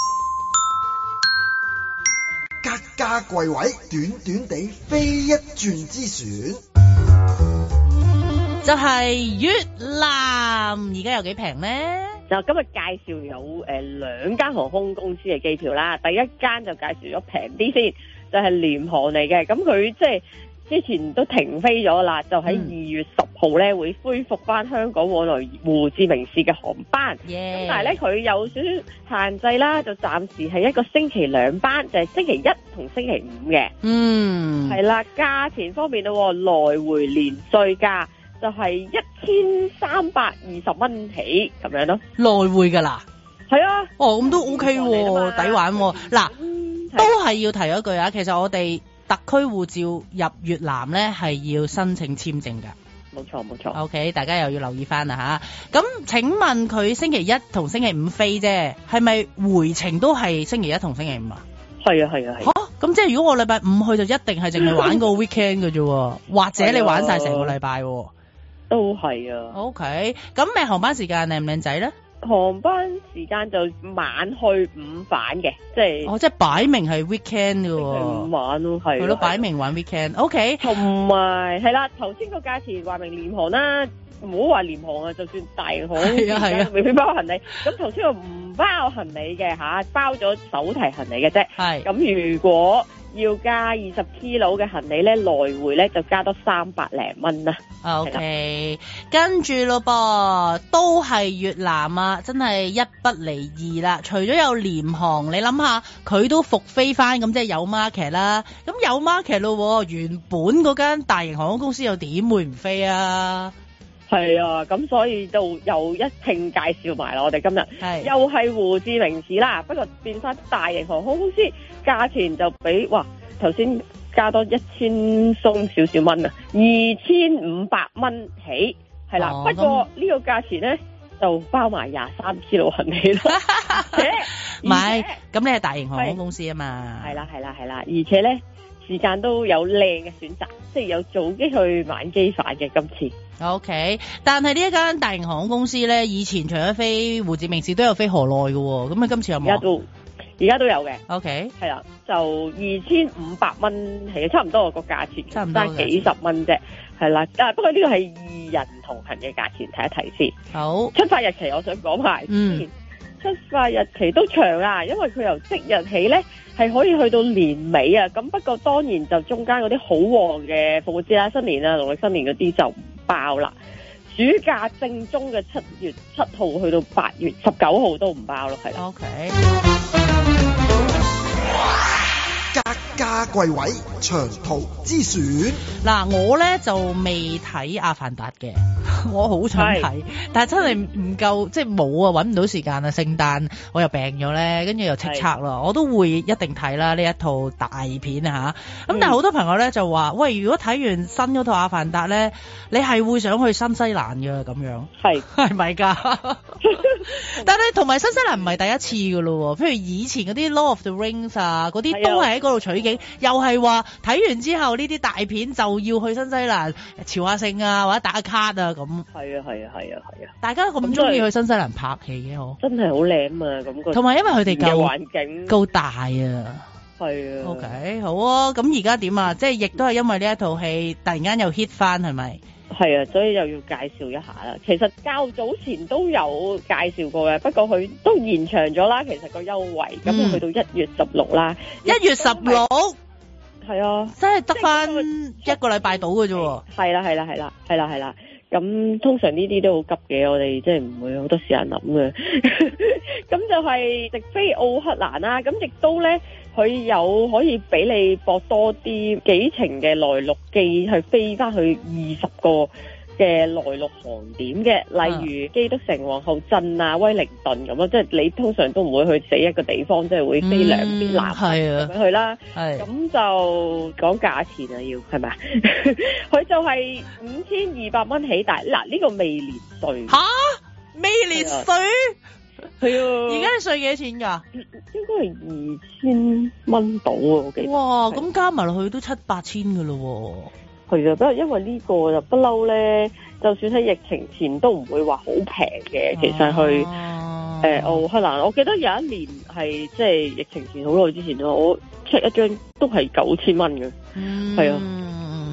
格價貴位，短短地飛一轉之船， 就係越南，而家有幾平呢？ 就今日介紹有誒兩間航空公司嘅機票啦，第一間就介紹咗平啲先，就係廉航嚟嘅，咁佢即係之前都停飛咗啦，就喺二月十號咧會恢復翻香港往來胡志明市嘅航班。咁、yeah. 但係咧佢有少少限制啦，就暫時係一個星期兩班，就係、是、星期一同星期五嘅。嗯，係啦，價錢方面咯，來回連稅價就係一千三百二十蚊起咁樣咯。 來回噶啦，係啊。 哦，咁都 OK 喎，抵玩喎。嗱、嗯，都係要提一句啊，其實我哋特區護照入越南咧係要申請簽證噶。 冇錯冇錯。OK， 大家又要留意翻啦吓。咁請問佢星期一同星期五飛啫，係咪回程都係星期一同星期五啊？ 係啊係啊係。吓， 咁即係如果我禮拜五去就一定係淨係玩個 weekend 嘅啫，或者你玩晒成個禮拜。 都係啊。OK， 咁咩航班時間靚唔靚仔咧？ 航班時間就晚去午返嘅，即係哦，即係擺明係 weekend 嘅喎。 午晚咯，係。係咯， 擺明玩 weekend。OK， 同埋係啦，頭先個價錢話明廉航啦，唔好話廉航啊，就算大航係啊係啊，未必包行李。咁頭先話唔包行李嘅吓，包咗手提行李嘅啫。係。咁如果要加二十 kilo 嘅行李咧，來回咧就加多三百零蚊啦。 OK， 跟住咯噃，都係越南啊，真係一不離二啦。除咗有廉航，你諗下佢都復飛翻，咁即係有 market 啦。咁有 market 咯，原本嗰間大型航空公司又點會唔飛啊？ 係啊，咁所以就又一併介紹埋啦。我哋今日係又係胡志明市啦，不過變翻大型航空公司，價錢就比哇頭先加多一千鬆少少蚊啊，二千五百蚊起係啦。哦、不過呢個價錢咧就包埋廿三 kilo 行李啦。 唔係，咁你係大型航空公司啊嘛。 係啦係啦係啦，而且咧時間都有靚嘅選擇，即係有早機去晚機返嘅今次。 OK， 但係呢一間大型航空公司咧，以前除咗飛胡志明市都有飛河內嘅，咁啊今次有冇？ 而家都而家都有嘅。 OK， 係啦，就二千五百蚊係差唔多個價錢， 差唔多幾十蚊啫。係啦，但係不過呢個係二人同行嘅價錢，睇一睇先。好，出發日期我想講埋。嗯，出發日期都長啊，因為佢由即日起咧係可以去到年尾啊。咁不過當然就中間嗰啲好旺嘅復活節啦、新年啊、農曆新年嗰啲就唔包啦。暑假正宗嘅七月七號去到八月十九號都唔包咯，係啦。 OK。 格價貴位長途之選。 嗱，我咧就未睇阿凡達嘅，我好想睇，但係真係唔夠，即係冇啊，搵唔到時間啊。聖誕我又病咗咧，跟住又叱咤啦，我都會一定睇啦呢一套大片啊吓。咁、嗯、但係好多朋友咧就話，喂，如果睇完新嗰套阿凡達咧，你係會想去新西蘭嘅咁樣，係係咪噶？但係同埋新西蘭唔係第一次噶咯，譬如以前嗰啲 Lord of the Rings 啊，嗰啲都係喺嗰度取景，又係話睇完之後呢啲大片就要去新西蘭朝下聖啊，或者打卡啊咁。 係啊係啊係啊係啊！ 大家咁中意去新西蘭拍戲嘅嗬， 真係好靚啊！咁個同埋因為佢哋夠環境夠大啊。 係啊。 OK， 好啊。咁而家點啊？即係亦都係因為呢一套戲突然間又 hit 翻，係咪？ 係啊，所以又要介紹一下啦。其實較早前都有介紹過嘅，不過佢都延長咗啦。其實個優惠咁、嗯、去到一月十六啦。 一月十六， 係啊， 真係得翻一個禮拜到嘅啫。 係啦係啦係啦係啦係啦。咁通常呢啲都好急嘅，我哋即係唔會好多時間諗嘅。咁就係直飛奧克蘭啦。咁亦都咧。佢有可以俾你博多啲幾程嘅內陸機，去飛翻去二十個嘅內陸航點嘅，例如基督城、皇后鎮啊、威靈頓咁咯。即係你通常都唔會去死一個地方，即係會飛兩邊南咁樣去啦。係咁就講價錢啊，要係咪啊？佢就係五千二百蚊起，但係嗱呢個未連稅。吓， 未連稅？ 係啊， 而家你稅幾多錢噶？ 應該係二千蚊到啊，我記得。哇， 咁加埋落去都七八千噶咯。 係啊，不過因為呢個就不嬲咧，就算喺疫情前都唔會話好平嘅。其實去誒奧克蘭，我記得有一年係即係疫情前好耐之前咯，我 check 一張都係九千蚊嘅。係啊。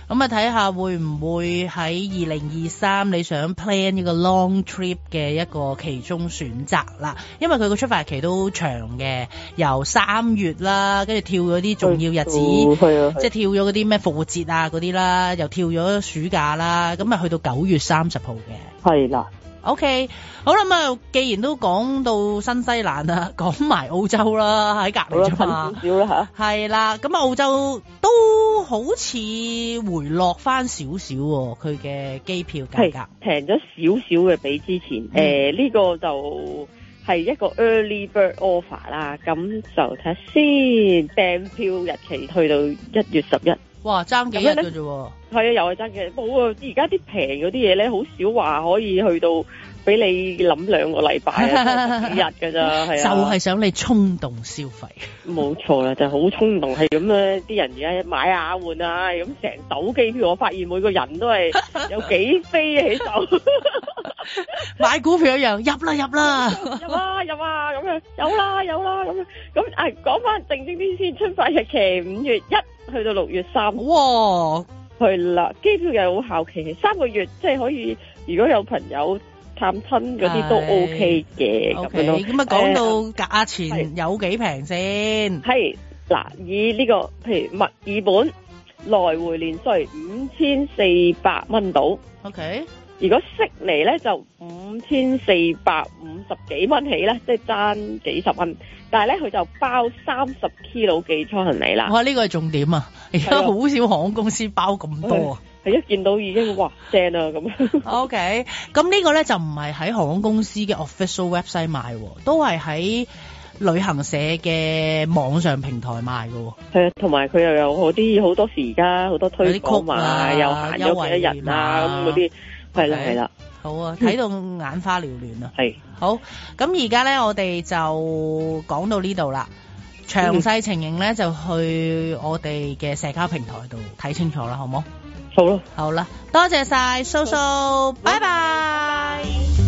咁啊睇下會唔會喺二零二三你想 plan 一個 long trip 嘅一個其中選擇啦，因為佢個出發日期都長嘅，由三月啦，跟住跳咗啲重要日子， 哦、 即係跳咗嗰啲咩復活節啊嗰啲啦，又跳咗暑假啦，咁啊去到九月三十號嘅。係啦。OK， 好啦，咁啊，既然都講到新西蘭啦，講埋澳洲啦，喺隔離啫嘛，少啦嚇，係啦，咁啊澳洲都好似回落翻少少喎，佢嘅機票價格平咗少少嘅比之前，誒呢、嗯呃呢個就係一個 early bird offer 啦，咁就睇下先，訂票日期去到一月十一。哇，爭幾日嘅啫喎！係啊，又係爭幾日。冇啊，而家啲平嗰啲嘢咧，好少話可以去到俾你諗兩個禮拜啊，幾日㗎咋，係啊。就係想你衝動消費。冇錯啦，就係好衝動，係咁咧。啲人而家買下換啊，咁成手機票，我發現每個人都係有幾飛起手。買股票一樣，入啦入啦，入啊入啊咁樣，有啦有啦咁樣。咁啊，講翻正正啲先，出發日期五月一去到六月三。哇，係啦，機票又好效期，三個月，即係可以，如果有朋友探親嗰啲都 OK 嘅咁樣咯。咁啊，講到價錢有幾平先？係嗱，以呢個譬如墨爾本來回連稅五千四百蚊到。OK。如果悉尼咧就五千四百五十幾蚊起咧，即係爭幾十蚊。但係咧佢就包三十 kilo 寄艙行李啦。哇，呢個係重點啊！而家好少航空公司包咁多啊。係一見到已經哇正啊咁。OK，咁呢個咧就唔係喺航空公司嘅 official website 賣，都係喺旅行社嘅網上平台賣嘅。係啊，同埋佢又有好啲好多時而家好多推廣嘛，又行咗幾多人啊咁嗰啲。係啦係啦，好啊，睇到眼花繚亂啊！係好，咁而家咧我哋就講到呢度啦，詳細情形咧就去我哋嘅社交平台度睇清楚啦，好唔好？好啦，好啦，多謝晒蘇蘇，拜拜。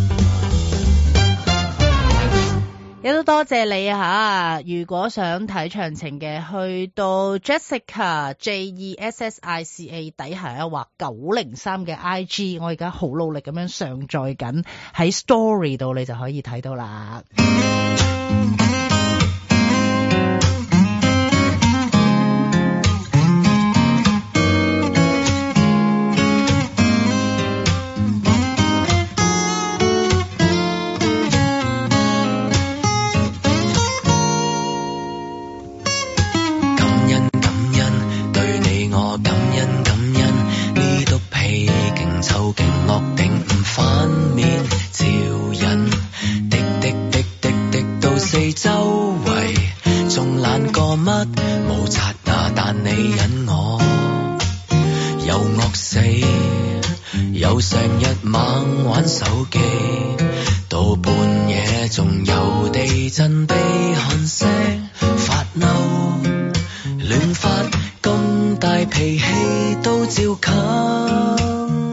亦都多謝你啊！如果想睇詳情嘅，去到 Jessica J E S S I C A 底下啊，或九零三嘅 I G， 我而家好努力咁樣上載緊喺 Story 度，你就可以睇到啦。 湊勁惡頂唔反面照人，滴滴滴滴滴到四周圍，仲懶過乜冇刷牙，但你忍我又惡死，又成日猛玩手機，到半夜仲有地震悲鼾聲，發嬲亂發咁大脾氣都照冚。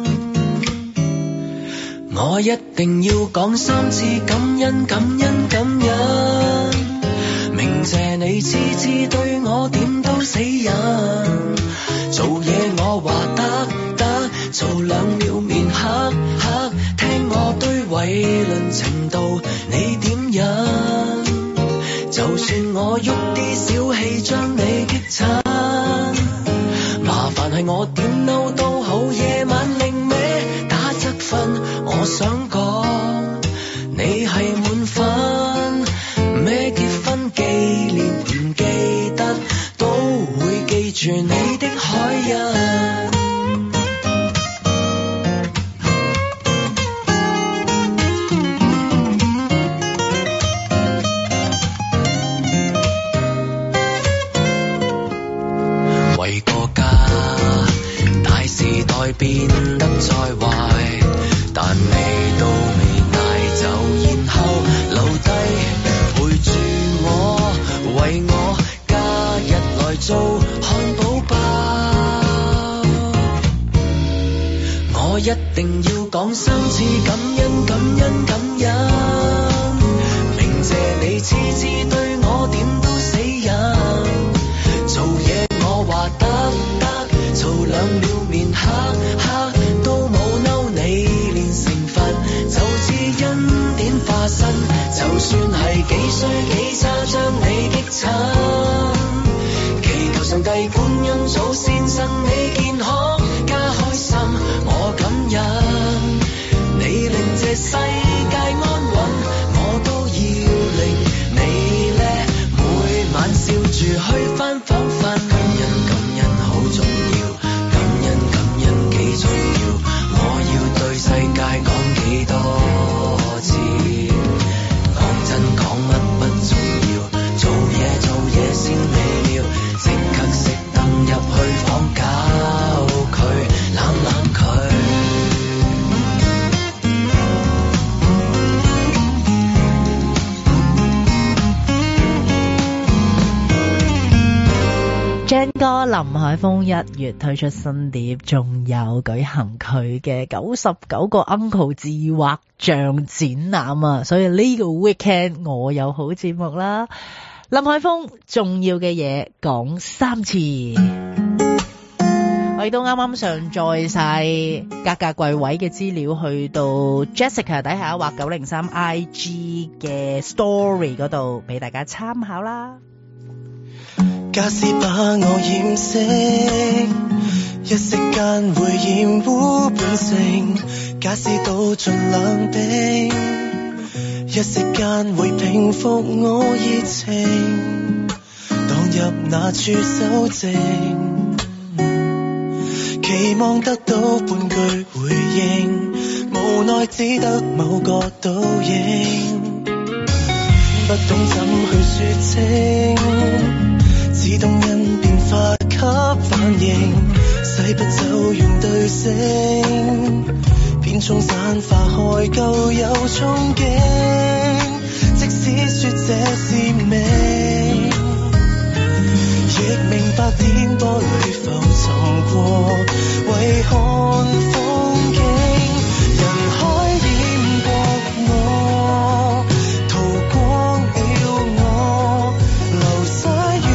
我一定要講三次感恩感恩感恩，明謝你次次對我點都死人，做嘢我話得得，做兩秒面黑黑，聽我堆偉論程度你點忍，就算我喐啲小氣將你激親，麻煩係我點嬲都好，夜晚另歪打側瞓，我想講你係滿分，咩結婚紀念唔記得，都會記住你的海印。為國家大時代變得再壞，但你都未帶走，然後留低陪住我，為我假日來做漢堡包。我一定要講三次感恩感恩感恩，明謝你次次對我點都死人，做嘢我話得得，做兩秒面歡欣祖先身體健康加開心，我感恩你令這世界安穩，我都要令你叻，每晚笑住去返房瞓。感恩感恩好重要，感恩感恩幾重要，我要對世界講幾多次，講真講乜不重要，做嘢做嘢先理了，即刻熄燈入去房搞佢，攬攬佢。 張哥林海峰一月推出新碟，仲有舉行佢嘅九十九個 Uncle 自畫像展覽啊！所以呢個 weekend 我有好節目啦。林海峰重要嘅嘢講三次，我亦都啱啱上載晒格價櫃位嘅資料去到 Jessica 底下畫九零三 I G 嘅 story 嗰度俾大家參考啦。 假使把我掩飾，一息間會染污本性；假使倒進冷冰，一息間會平復我熱情。蕩入那處修正，期望得到半句回應，無奈只得某個倒影，不懂怎去說清。自動因變化給反應，洗不走原對聲，片中散發開舊有憧憬。即使說這是命，亦明白顛簸裡浮沉過，為看風景。人海淹過我，逃光了我，流逝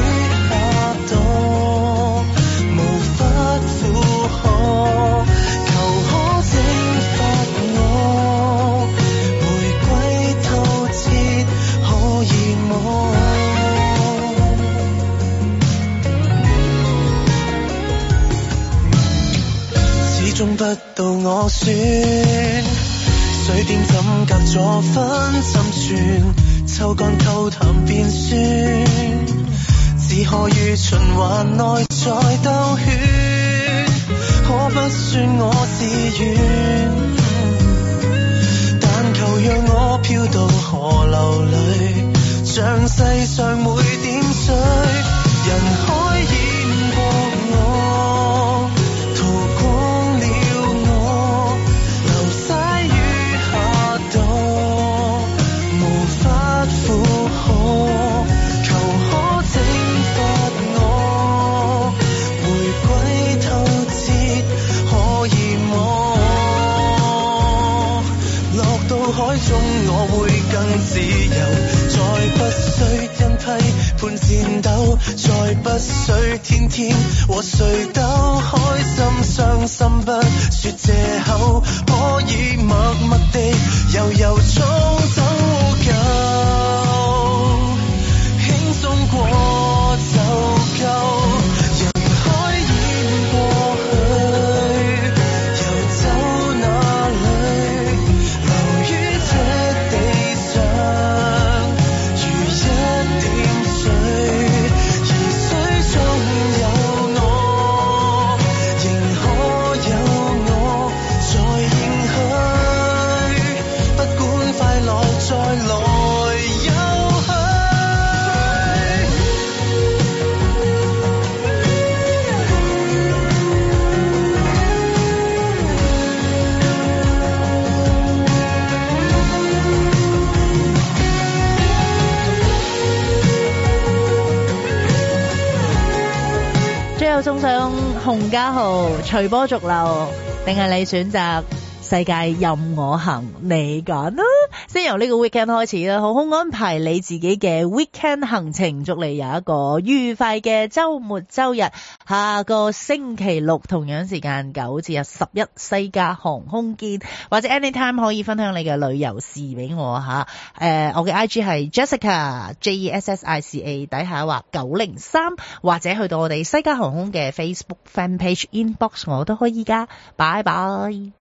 不到我算，水點怎隔咗分針寸，抽乾溝淡變酸，只可於循環內再兜圈，可不算我自願，但求讓我飄到河流裡，像世上每點水，人海淹過我，逃光我會更自由，再不需因批判戰鬥，再不需天天和誰鬥，開心傷心不說藉口，可以默默地悠悠衝走夠，輕鬆過就夠。 送上洪家豪隨波逐流，定係你選擇世界任我行，你揀啦。先由呢個 weekend 開始啦，好好安排你自己嘅 weekend 行程，祝你有一個愉快嘅週末週日。下個星期六同樣時間九至日十一，西加航空見，或者 anytime 可以分享你嘅旅遊事俾我吓。誒、呃，我嘅 I G 係 Jessica J E S S I C A， 底下話九零三，或者去到我哋西加航空嘅 Facebook fan page inbox 我都可以噶。拜拜。